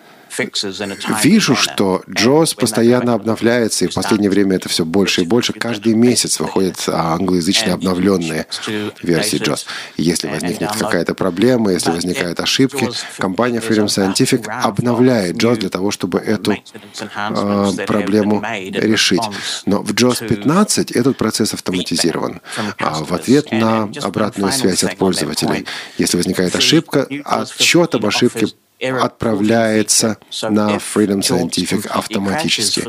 вижу, что JAWS постоянно обновляется, и в последнее время это все больше и больше. Каждый месяц выходят англоязычные обновленные версии JAWS. Если возникнет какая-то проблема, если возникают ошибки, компания Freedom Scientific обновляет JAWS для того, чтобы эту проблему решить. Но в JAWS 15 этот процесс автоматизирован. В ответ на обратную связь от пользователей, если возникает ошибка, отчет об ошибке отправляется на Freedom Scientific автоматически.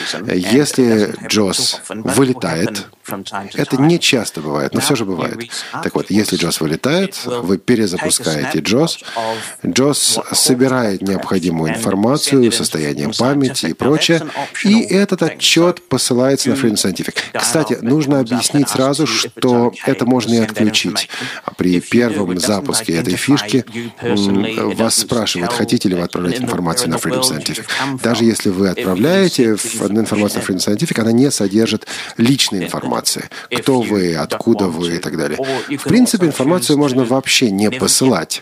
Если JAWS вылетает, это не часто бывает, но все же бывает. Так вот, если JAWS вылетает, вы перезапускаете JAWS, JAWS собирает необходимую информацию, состояние памяти и прочее, и этот отчет посылается на Freedom Scientific. Кстати, нужно объяснить сразу, что это можно и отключить. При первом запуске этой фишки вас спрашивают, хотите ли вы отправлять информацию на Freedom Scientific. Даже если вы отправляете информацию на Freedom Scientific, она не содержит личной информации. Кто вы, откуда вы и так далее. В принципе, информацию можно вообще не посылать.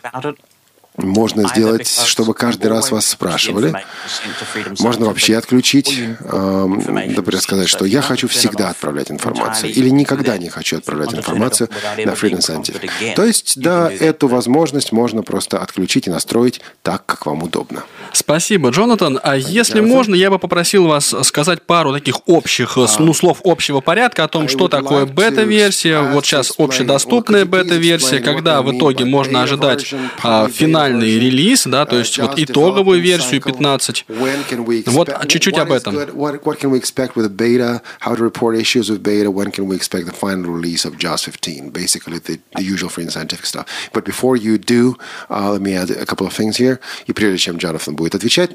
Можно сделать, чтобы каждый раз вас спрашивали. Можно вообще отключить, например, сказать, что я хочу всегда отправлять информацию или никогда не хочу отправлять информацию на Freedom Scientific. То есть, да, эту возможность можно просто отключить и настроить так, как вам удобно. Спасибо, Джонатан. А если можно, я бы попросил вас сказать пару таких общих, слов общего порядка о том, что такое бета-версия. Вот сейчас общедоступная бета-версия, когда в итоге можно ожидать финальный релиз, да, то есть вот итоговую версию 15. Вот чуть-чуть об этом. What can we expect with the beta? How to report issues with beta? When can we expect the final release of JAWS 15? Basically, the usual Freedom Scientific stuff. But before you do, let me add a couple of things here. И прежде чем Джонатан будет отвечать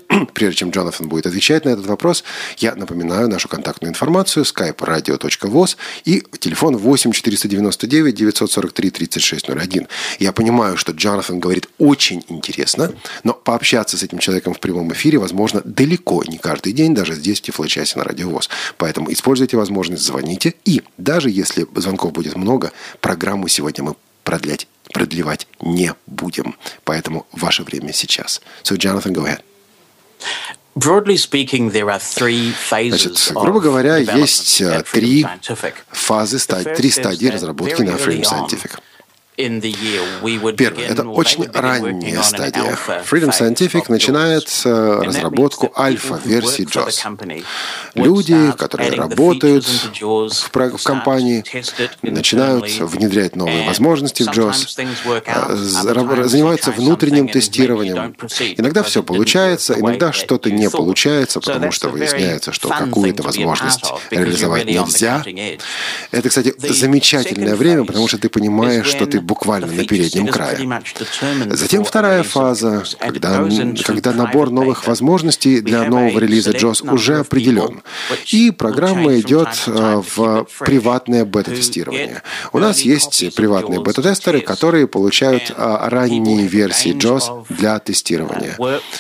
на этот вопрос, я напоминаю нашу контактную информацию: skype radio.voz и телефон 8 499 943 3601. Я понимаю, что Джонатан говорит очень интересно, но пообщаться с этим человеком в прямом эфире возможно далеко не каждый день, даже здесь, в Тифлочасе на Радио ВОС. Поэтому используйте возможность, звоните. И даже если звонков будет много, программу сегодня мы продлевать не будем. Поэтому ваше время сейчас. So, Jonathan, go ahead. Значит, грубо говоря, есть три стадии разработки на Freedom Scientific. Первое. Это очень ранняя стадия. Freedom Scientific начинает разработку альфа-версии JAWS. Люди, которые работают в компании, начинают внедрять новые возможности в JAWS, занимаются внутренним тестированием. Иногда все получается, иногда что-то не получается, потому что выясняется, что какую-то возможность реализовать нельзя. Это, кстати, замечательное время, потому что ты понимаешь, что ты буквально на переднем крае. Затем вторая фаза, когда набор новых возможностей для нового релиза JAWS уже определен. И программа идет в приватное бета-тестирование. У нас есть приватные бета-тестеры, которые получают ранние версии JAWS для тестирования.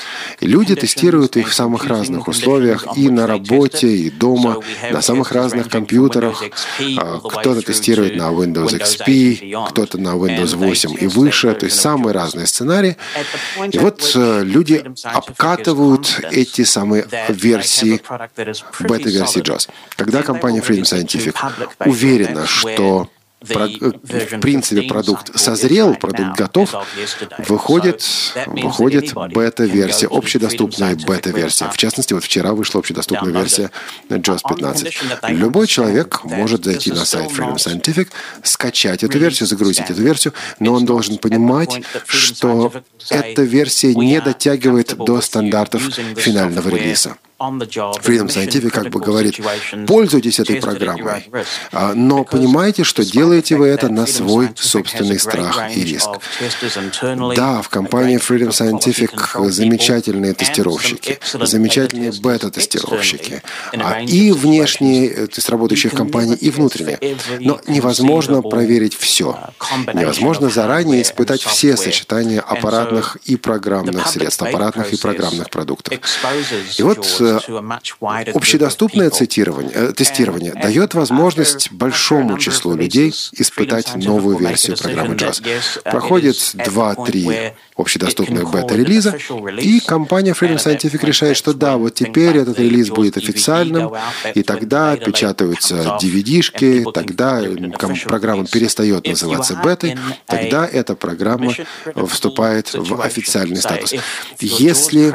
И люди тестируют их в самых разных условиях, и на работе, и дома, на самых разных компьютерах. Кто-то тестирует на Windows XP, кто-то на Windows 8 и выше, то есть самые разные сценарии. И вот люди обкатывают эти самые версии, бета-версии JAWS. Когда компания Freedom Scientific уверена, что в принципе продукт созрел, продукт готов, выходит бета-версия, общедоступная бета-версия. В частности, вот вчера вышла общедоступная версия JAWS 15. Любой человек может зайти на сайт Freedom Scientific, скачать эту версию, загрузить эту версию, но он должен понимать, что эта версия не дотягивает до стандартов финального релиза. Freedom Scientific как бы говорит, пользуйтесь этой программой, но понимайте, что делаете вы это на свой собственный страх и риск. Да, в компании Freedom Scientific замечательные тестировщики, замечательные бета-тестировщики, и внешние, то есть работающие в компании, и внутренние. Но невозможно проверить все. Невозможно заранее испытать все сочетания аппаратных и программных средств, аппаратных и программных продуктов. И вот общедоступное тестирование дает возможность большому числу людей испытать новую версию программы JAWS. Проходит 2-3 общедоступных бета-релиза, и компания Freedom Scientific решает, что да, вот теперь этот релиз будет официальным, и тогда печатаются DVD-шки, тогда программа перестает называться бетой, тогда эта программа вступает в официальный статус. Если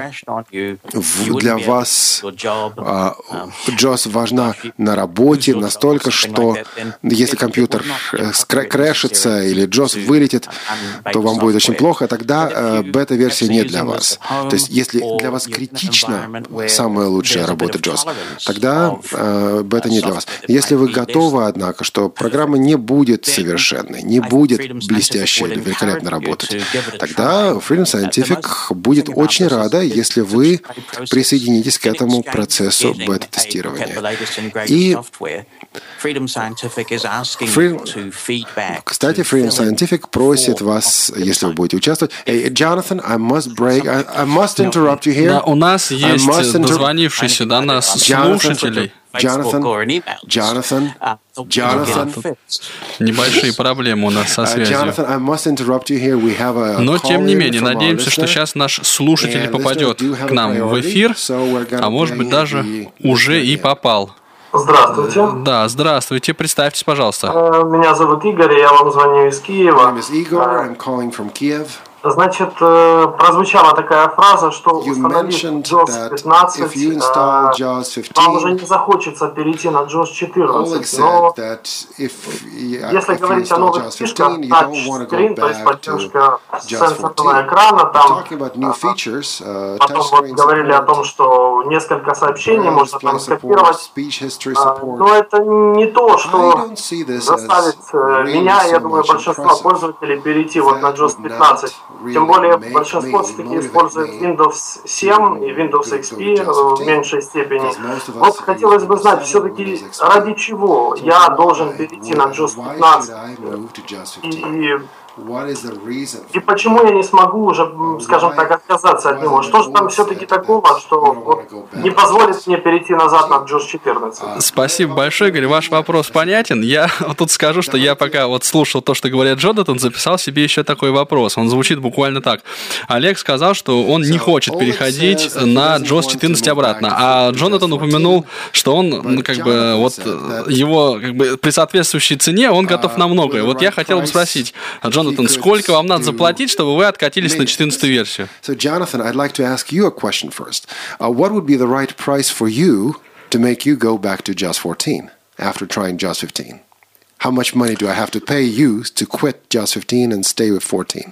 для вас JAWS важна на работе настолько, что если компьютер крэшится или JAWS вылетит, то вам будет очень плохо, тогда бета-версия не для вас. То есть если для вас критично самая лучшая работа JAWS, тогда бета не для вас. Если вы готовы, однако, что программа не будет совершенной, не будет блестящей или великолепно работать, тогда Freedom Scientific будет очень рада, если вы присоединитесь к этому процессу бета-тестирования. И кстати, Freedom Scientific просит вас, если вы будете участвовать. Hey, Jonathan, I must interrupt you here. Да, у нас есть дозвонившийся до нас слушателей. Jonathan. Небольшие проблемы у нас со связью. Но, тем не менее, надеемся, что сейчас наш слушатель попадет к нам в эфир, а может быть, даже уже и попал. Здравствуйте. Да, здравствуйте. Представьтесь, пожалуйста. Меня зовут Игорь, я вам звоню из Киева. Значит, прозвучала такая фраза, что установив JAWS 15, вам уже не захочется перейти на JAWS 14. Но если говорить о новых фишках, тачскрин, то есть поддержка сенсорного экрана, там потом вот говорили о том, что несколько сообщений можно там скопировать. Но это не то, что заставит меня, я думаю, большинство пользователей перейти вот на JAWS 15. Тем более большинство все-таки использует Windows 7 и Windows XP в меньшей степени. Вот хотелось бы знать, все-таки ради чего я должен перейти на JAWS 15 и почему я не смогу уже, скажем так, отказаться от него? Что же там все-таки такого, что вот не позволит мне перейти назад на JAWS 14? Спасибо большое, Игорь. Ваш вопрос понятен. Я тут скажу, что я пока вот слушал то, что говорит Джонатан, записал себе еще такой вопрос. Он звучит буквально так. Олег сказал, что он не хочет переходить на JAWS 14 обратно. А Джонатан упомянул, что он, как бы, вот его, как бы, при соответствующей цене он готов на многое. Вот я хотел бы спросить, Джонатан, сколько вам надо заплатить, чтобы вы откатились на 14-ю версию? So, Jonathan, I'd like to ask you a question first. What would be the right price for you to make you go back to JAWS 14 after trying JAWS 15? How much money do I have to pay you to quit JAWS 15 and stay with 14?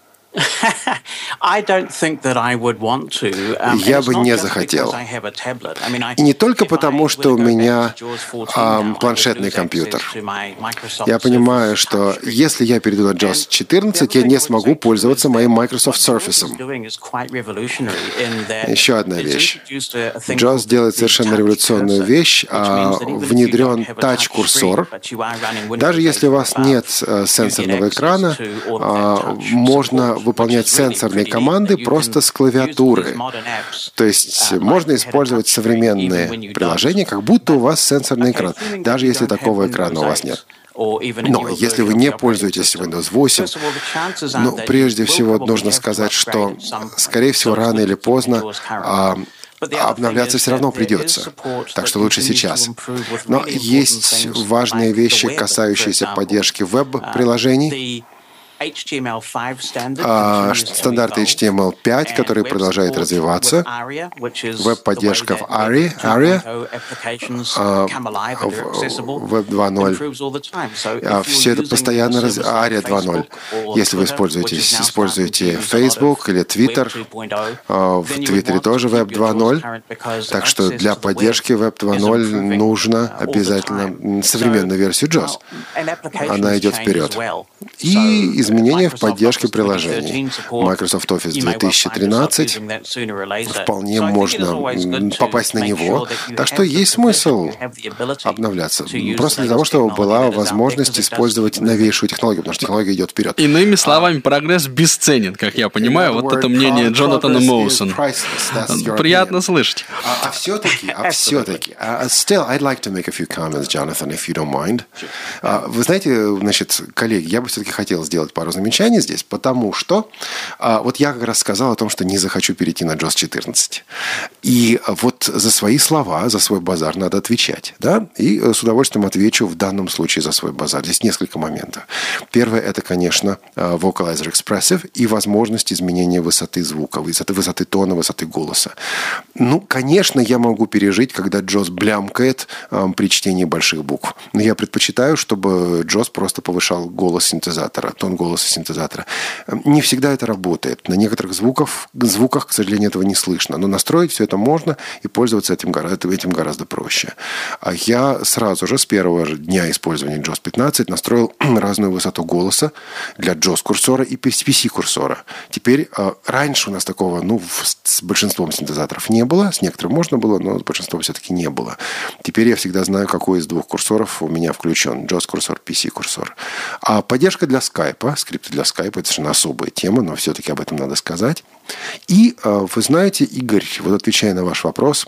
I don't think that I would want to. Я бы не захотел. И не только потому, что у меня планшетный компьютер. Я понимаю, что если я перейду на JAWS 14, я не смогу пользоваться моим Microsoft Surface. Еще одна вещь. JAWS делает совершенно революционную вещь. Внедрен тач-курсор. Даже если у вас нет сенсорного экрана, можно выполнять сенсорные команды просто с клавиатуры. То есть можно использовать современные приложения, как будто у вас сенсорный экран, даже если такого экрана у вас нет. Но если вы не пользуетесь Windows 8, прежде всего нужно сказать, что, скорее всего, рано или поздно обновляться все равно придется, так что лучше сейчас. Но есть важные вещи, касающиеся поддержки веб-приложений. Стандарты HTML5, который продолжает развиваться, веб-поддержка в ARIA, Web 2.0, все это постоянно ARIA 2.0. Если вы используете Facebook или Twitter, в Твиттере тоже Web 2.0, так что для поддержки Web 2.0 нужно обязательно современную версию JAWS. Она идет вперед. И изменения в поддержке приложений. Microsoft Office 2013 вполне можно попасть на него. Так что есть смысл обновляться. Просто для того, чтобы была возможность использовать новейшую технологию, потому что технология идет вперед. Иными словами, прогресс бесценен, как я понимаю. Вот это мнение Джонатана Моусона. Приятно слышать. А все-таки, still, I'd like to make a few comments, Jonathan, if you don't mind. Вы знаете, значит, коллеги, я бы все-таки хотел сделать пару замечаний здесь, потому что вот я как раз сказал о том, что не захочу перейти на JAWS 14. И вот за свои слова, за свой базар надо отвечать. Да? И с удовольствием отвечу в данном случае за свой базар. Здесь несколько моментов. Первое – это, конечно, Vocalizer Expressive и возможность изменения высоты звука, высоты тона, высоты голоса. Ну, конечно, я могу пережить, когда JAWS блямкает при чтении больших букв. Но я предпочитаю, чтобы JAWS просто повышал голос синтезатора, тон голоса синтезатора. Не всегда это работает. На некоторых звуках, к сожалению, этого не слышно. Но настроить все это можно, и пользоваться этим гораздо проще. А я сразу же, с первого же дня использования JAWS 15, настроил разную высоту голоса для JAWS-курсора и PC-курсора. Теперь, раньше у нас такого, с большинством синтезаторов не было. С некоторым можно было, но с большинством все-таки не было. Теперь я всегда знаю, какой из двух курсоров у меня включен. JAWS-курсор, PC-курсор. А поддержка для скайпа, скрипты для скайпа, это совершенно особая тема, но все-таки об этом надо сказать. И вы знаете, Игорь, вот отвечая на ваш вопрос,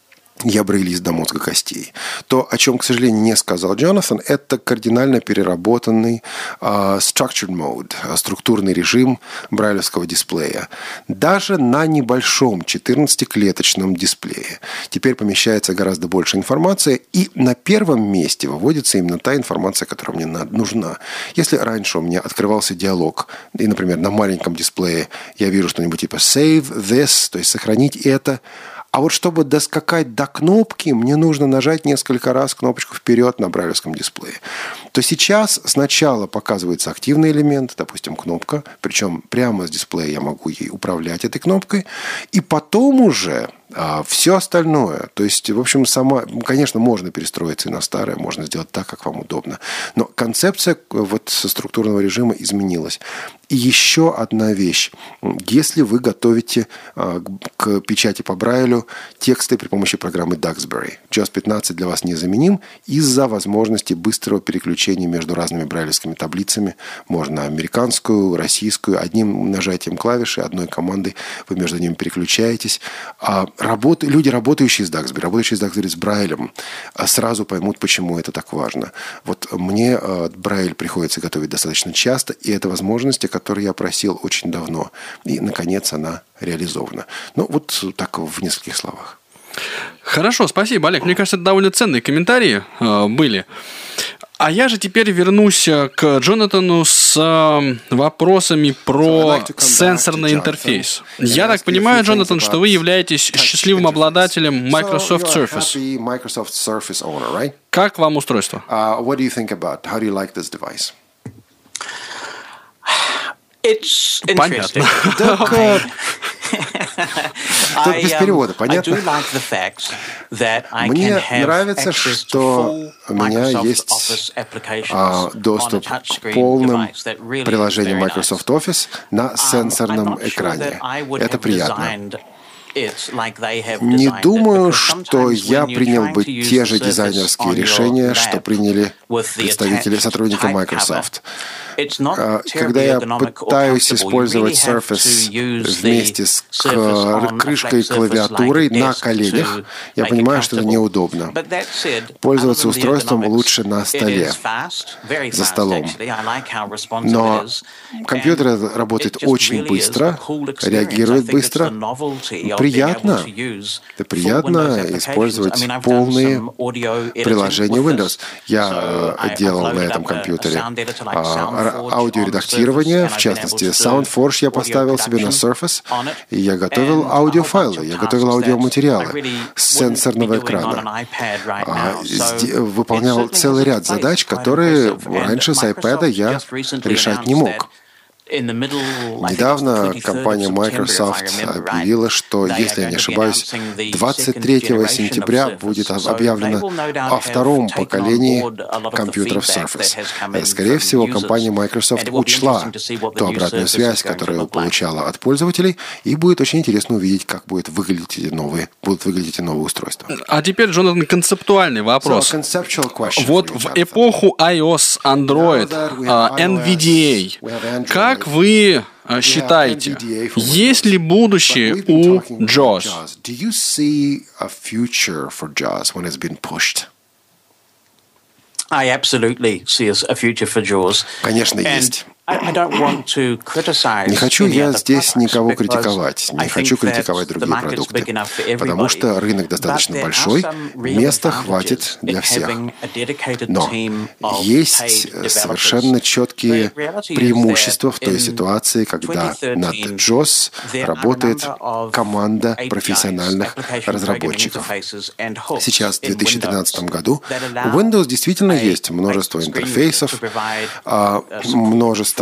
я брейвист до мозга костей. То, о чем, к сожалению, не сказал Джонатан, это кардинально переработанный structured mode, структурный режим брайлевского дисплея. Даже на небольшом 14-клеточном дисплее теперь помещается гораздо больше информации, и на первом месте выводится именно та информация, которая мне нужна. Если раньше у меня открывался диалог, и, например, на маленьком дисплее я вижу что-нибудь типа save this, то есть сохранить это, а вот чтобы доскакать до кнопки, мне нужно нажать несколько раз кнопочку вперед на брайлевском дисплее. То сейчас сначала показывается активный элемент, допустим, кнопка, причем прямо с дисплея я могу ей управлять этой кнопкой, и потом уже все остальное, то есть, в общем, конечно, можно перестроиться и на старое, можно сделать так, как вам удобно. Но концепция вот со структурного режима изменилась. И еще одна вещь. Если вы готовите к печати по Брайлю тексты при помощи программы Duxbury, JAWS 15 для вас незаменим из-за возможности быстрого переключения между разными брайлевскими таблицами. Можно американскую, российскую. Одним нажатием клавиши, одной командой вы между ними переключаетесь. Люди, работающие с Duxbury, с Брайлем, сразу поймут, почему это так важно. Вот мне Брайль приходится готовить достаточно часто, и это возможность, о которой я просил очень давно. И, наконец, она реализована. Вот так в нескольких словах. Хорошо, спасибо, Олег. Мне кажется, это довольно ценные комментарии были. А я же теперь вернусь к Джонатану с вопросами про сенсорный интерфейс. Я так понимаю, Джонатан, что вы являетесь счастливым обладателем Microsoft Surface. Как вам устройство? Понятно. Тут без перевода, понятно? Мне нравится, что у меня есть доступ к полным приложениям Microsoft Office на сенсорном экране. Это приятно. Не думаю, что я принял бы те же дизайнерские решения, что приняли представители, сотрудники Microsoft. Когда я пытаюсь использовать Surface вместе с крышкой и клавиатурой на коленях, я понимаю, что это неудобно. Пользоваться устройством лучше на столе, за столом. Но компьютер работает очень быстро, реагирует быстро. Приятно. Это приятно использовать полные приложения Windows. Я делал на этом компьютере аудиоредактирование, в частности, SoundForge я поставил себе на Surface, и я готовил аудиофайлы, я готовил аудиоматериалы с сенсорного экрана. Выполнял целый ряд задач, которые раньше с iPad я решать не мог. Недавно компания Microsoft объявила, что, если я не ошибаюсь, 23 сентября будет объявлено о втором поколении компьютеров Surface. Скорее всего, компания Microsoft учла ту обратную связь, которую получала от пользователей, и будет очень интересно увидеть, как будут выглядеть эти новые устройства. А теперь, Джонатан, концептуальный вопрос. Вот в эпоху iOS, Android, NVDA, как вы считаете, есть ли будущее у JAWS? Конечно, есть. Не хочу я здесь никого критиковать, не хочу критиковать другие продукты, потому что рынок достаточно большой, места хватит для всех. Но есть совершенно четкие преимущества в той ситуации, когда над JAWS работает команда профессиональных разработчиков. Сейчас, в 2013 году, у Windows действительно есть множество интерфейсов, множество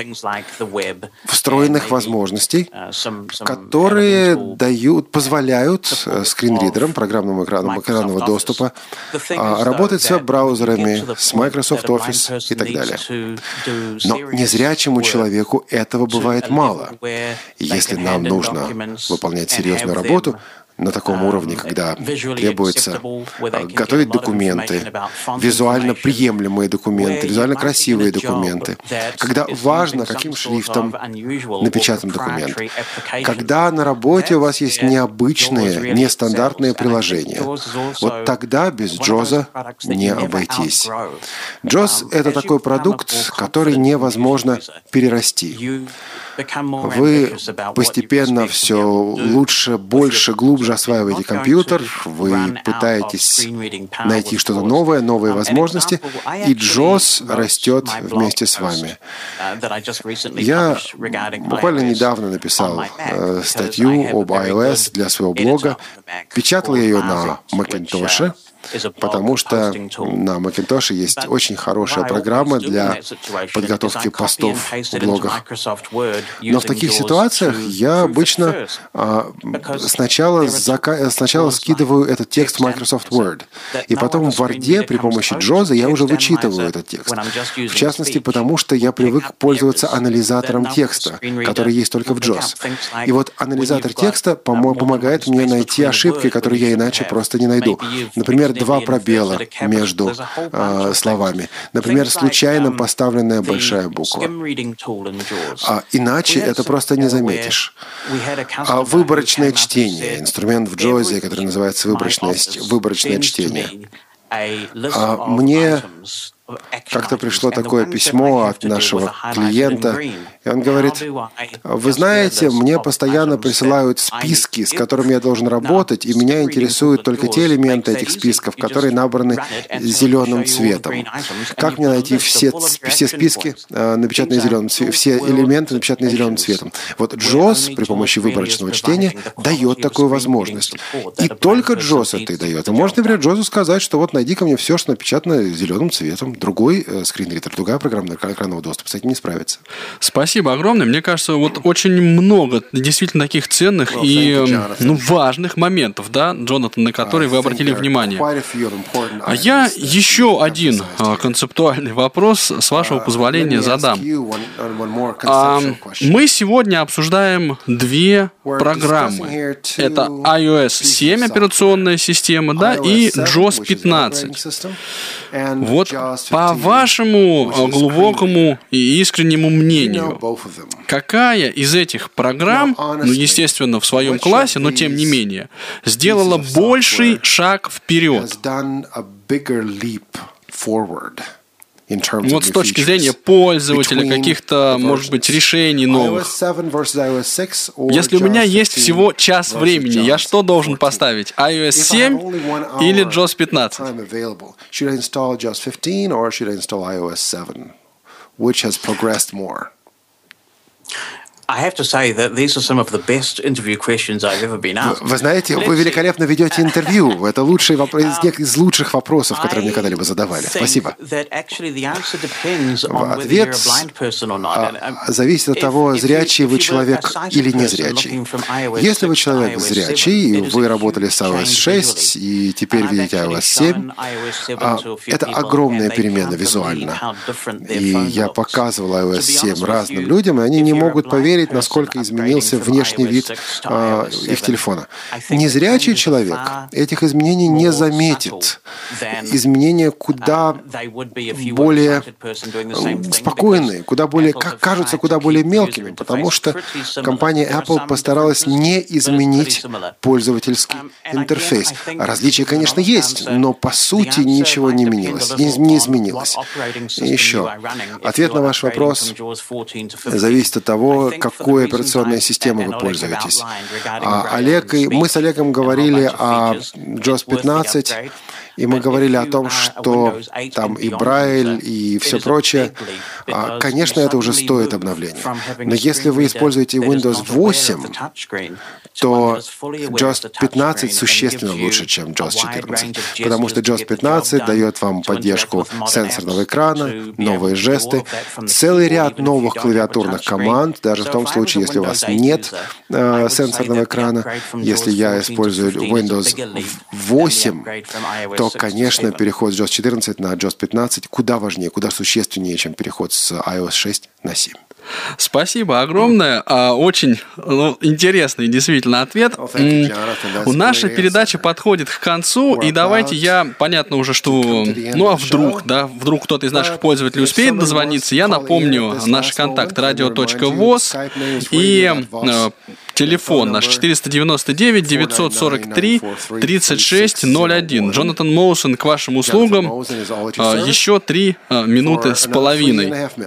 встроенных возможностей, которые позволяют скринридерам, программным экранам экранного доступа, работать с веб-браузерами, с Microsoft Office и так далее. Но незрячему человеку этого бывает мало. Если нам нужно выполнять серьезную работу на таком уровне, когда требуется готовить документы, визуально приемлемые документы, визуально красивые документы, когда важно, каким шрифтом напечатан документ, когда на работе у вас есть необычные, нестандартные приложения. Вот тогда без JAWS не обойтись. JAWS — это такой продукт, который невозможно перерасти. Вы постепенно все лучше, больше, глубже осваиваете компьютер, вы пытаетесь найти что-то новое, новые возможности, и JAWS растет вместе с вами. Я буквально недавно написал статью об iOS для своего блога, печатал ее на Macintosh, потому что на Macintosh есть очень хорошая программа для подготовки постов в блогах. Но в таких ситуациях я обычно сначала скидываю этот текст в Microsoft Word, и потом в Word при помощи JAWS я уже вычитываю этот текст. В частности, потому что я привык пользоваться анализатором текста, который есть только в JAWS. И вот анализатор текста помогает мне найти ошибки, которые я иначе просто не найду. Например, 2 пробела между словами. Например, случайно поставленная большая буква. Иначе это просто не заметишь. Выборочное чтение. Инструмент в JAWS, который называется выборочное чтение. Мне как-то пришло такое письмо от нашего клиента, и он говорит: вы знаете, мне постоянно присылают списки, с которыми я должен работать, и меня интересуют только те элементы этих списков, которые набраны зеленым цветом. Как мне найти все списки, напечатанные зеленым цветом, все элементы, напечатанные зеленым цветом? Вот JAWS при помощи выборочного чтения дает такую возможность. И только JAWS это и дает. Вы можете, например, JAWS сказать, что вот найди ко мне все, что напечатано зеленым цветом. другой скринридер, другая программа экранного доступа с этим не справится. Спасибо огромное. Мне кажется, вот очень много действительно таких ценных и важных моментов, да, Джонатан, на которые вы обратили внимание. А я еще один концептуальный вопрос, с вашего позволения, задам. Мы сегодня обсуждаем две программы. Это iOS 7 операционная система, да, и JOS 15. Вот по вашему глубокому и искреннему мнению, какая из этих программ, естественно, в своем классе, но тем не менее, сделала больший шаг вперед? Вот с точки зрения пользователя, каких-то, может быть, решений новых. Если у меня есть всего час времени, я что должен поставить? iOS 7 или JOS 15? Вы знаете, вы великолепно ведете интервью. Это лучший вопрос, из лучших вопросов, которые мне когда-либо задавали. Спасибо. Ответ зависит от того, зрячий вы человек или незрячий. Если вы человек зрячий, вы работали с iOS 6 и теперь видите iOS 7, это огромная перемена визуально. И я показывал iOS 7 разным людям, и они не могут поверить, насколько изменился внешний вид их телефона. Незрячий человек этих изменений не заметит. Изменения куда более спокойные, куда более, кажутся куда более мелкими, потому что компания Apple постаралась не изменить пользовательский интерфейс. Различия, конечно, есть, но по сути ничего не изменилось. И еще, ответ на ваш вопрос зависит от того, какой операционной системой вы пользуетесь. Мы с Олегом говорили о JOS 15, и мы говорили о том, что там и Брайль, и все прочее. Конечно, это уже стоит обновления. Но если вы используете Windows 8, то JOS 15 существенно лучше, чем JOS 14. Потому что JOS 15 дает вам поддержку сенсорного экрана, новые жесты, целый ряд новых клавиатурных команд, даже в том случае, если у вас нет сенсорного экрана. Если я использую Windows 8, то, конечно, переход с JOS 14 на JOS 15 куда важнее, куда существеннее, чем переход с iOS 6 на 7. Спасибо огромное. Очень интересный действительно ответ. Наша передача подходит к концу, и давайте понятно уже, что, вдруг кто-то из наших пользователей успеет дозвониться, я напомню наши контакты radio.voz и телефон наш 499-943-3601. Джонатан Моусон к вашим услугам. Еще 3 минуты с половиной.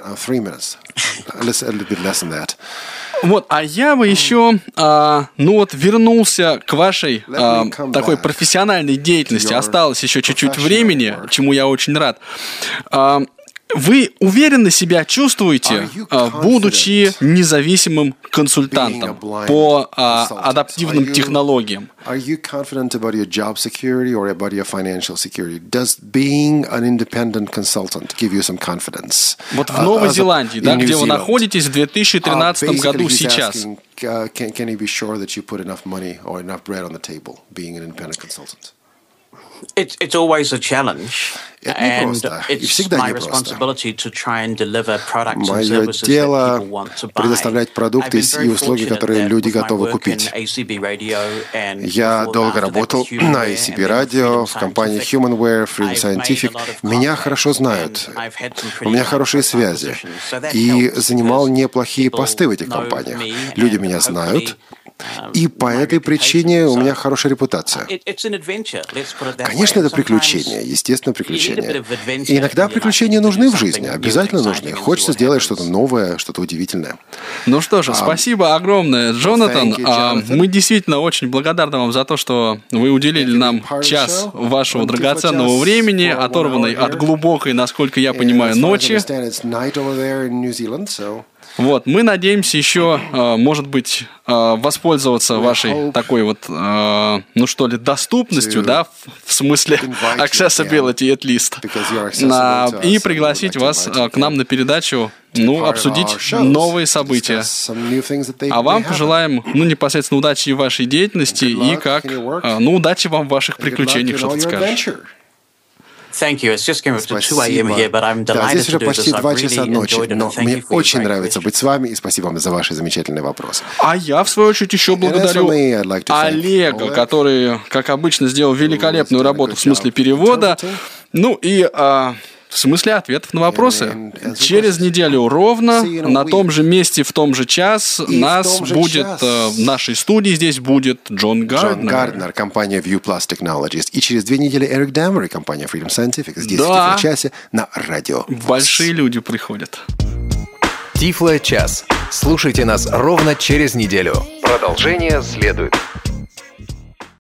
Вот, а я бы еще, вернулся к вашей такой профессиональной деятельности. Осталось еще чуть-чуть времени, чему я очень рад. Вы уверенно себя чувствуете, будучи независимым консультантом по адаптивным технологиям? Are you confident about your job security or about your financial security? Does being an independent consultant give you some confidence? Вот в Новой Зеландии, да, где вы находитесь в 2013 году сейчас. Can you be sure that you put enough money or enough bread on the table being an independent consultant? It's always a challenge, and it's my responsibility to try and deliver products and services that people want to buy. Предоставлять продукты и услуги, которые люди готовы купить. Я долго работал на ACB Radio, в компании Humanware, Freedom Scientific. Меня хорошо знают, у меня хорошие связи, и занимал неплохие посты в этих компаниях. Люди меня знают. И по этой причине у меня хорошая репутация. Конечно, это приключения, естественно, приключения. И иногда приключения нужны в жизни, обязательно нужны. Хочется сделать что-то новое, что-то удивительное. Ну что же, спасибо огромное, Джонатан. Мы действительно очень благодарны вам за то, что вы уделили нам час вашего драгоценного времени, оторванной от глубокой, насколько я понимаю, ночи. Вот, мы надеемся еще, может быть, воспользоваться вашей такой вот, ну что ли, доступностью, да, в смысле accessibility at least, и пригласить вас к нам на передачу, ну, обсудить новые события. А вам пожелаем, ну, непосредственно удачи в вашей деятельности и удачи вам в ваших приключениях, что ты скажешь. Thank you. It's just getting up to 2 a.m. here, but I'm delighted здесь уже почти 2 часа ночи, но мне очень нравится быть с вами, и спасибо вам за ваши замечательные вопросы. А я, в свою очередь, еще благодарю Олега, который, как обычно, сделал великолепную работу в смысле перевода, ну и в смысле ответов на вопросы. Через неделю ровно, на том же месте, в том же час, нас будет, в нашей студии здесь будет Джон Гарднер. Джон Гарднер, компания Viewplus Technologies. И через 2 недели Эрик Дамери, компания Freedom Scientific. Здесь в Тифло-часе на радио. Большие люди приходят. Тифло-час. Слушайте нас ровно через неделю. Продолжение следует.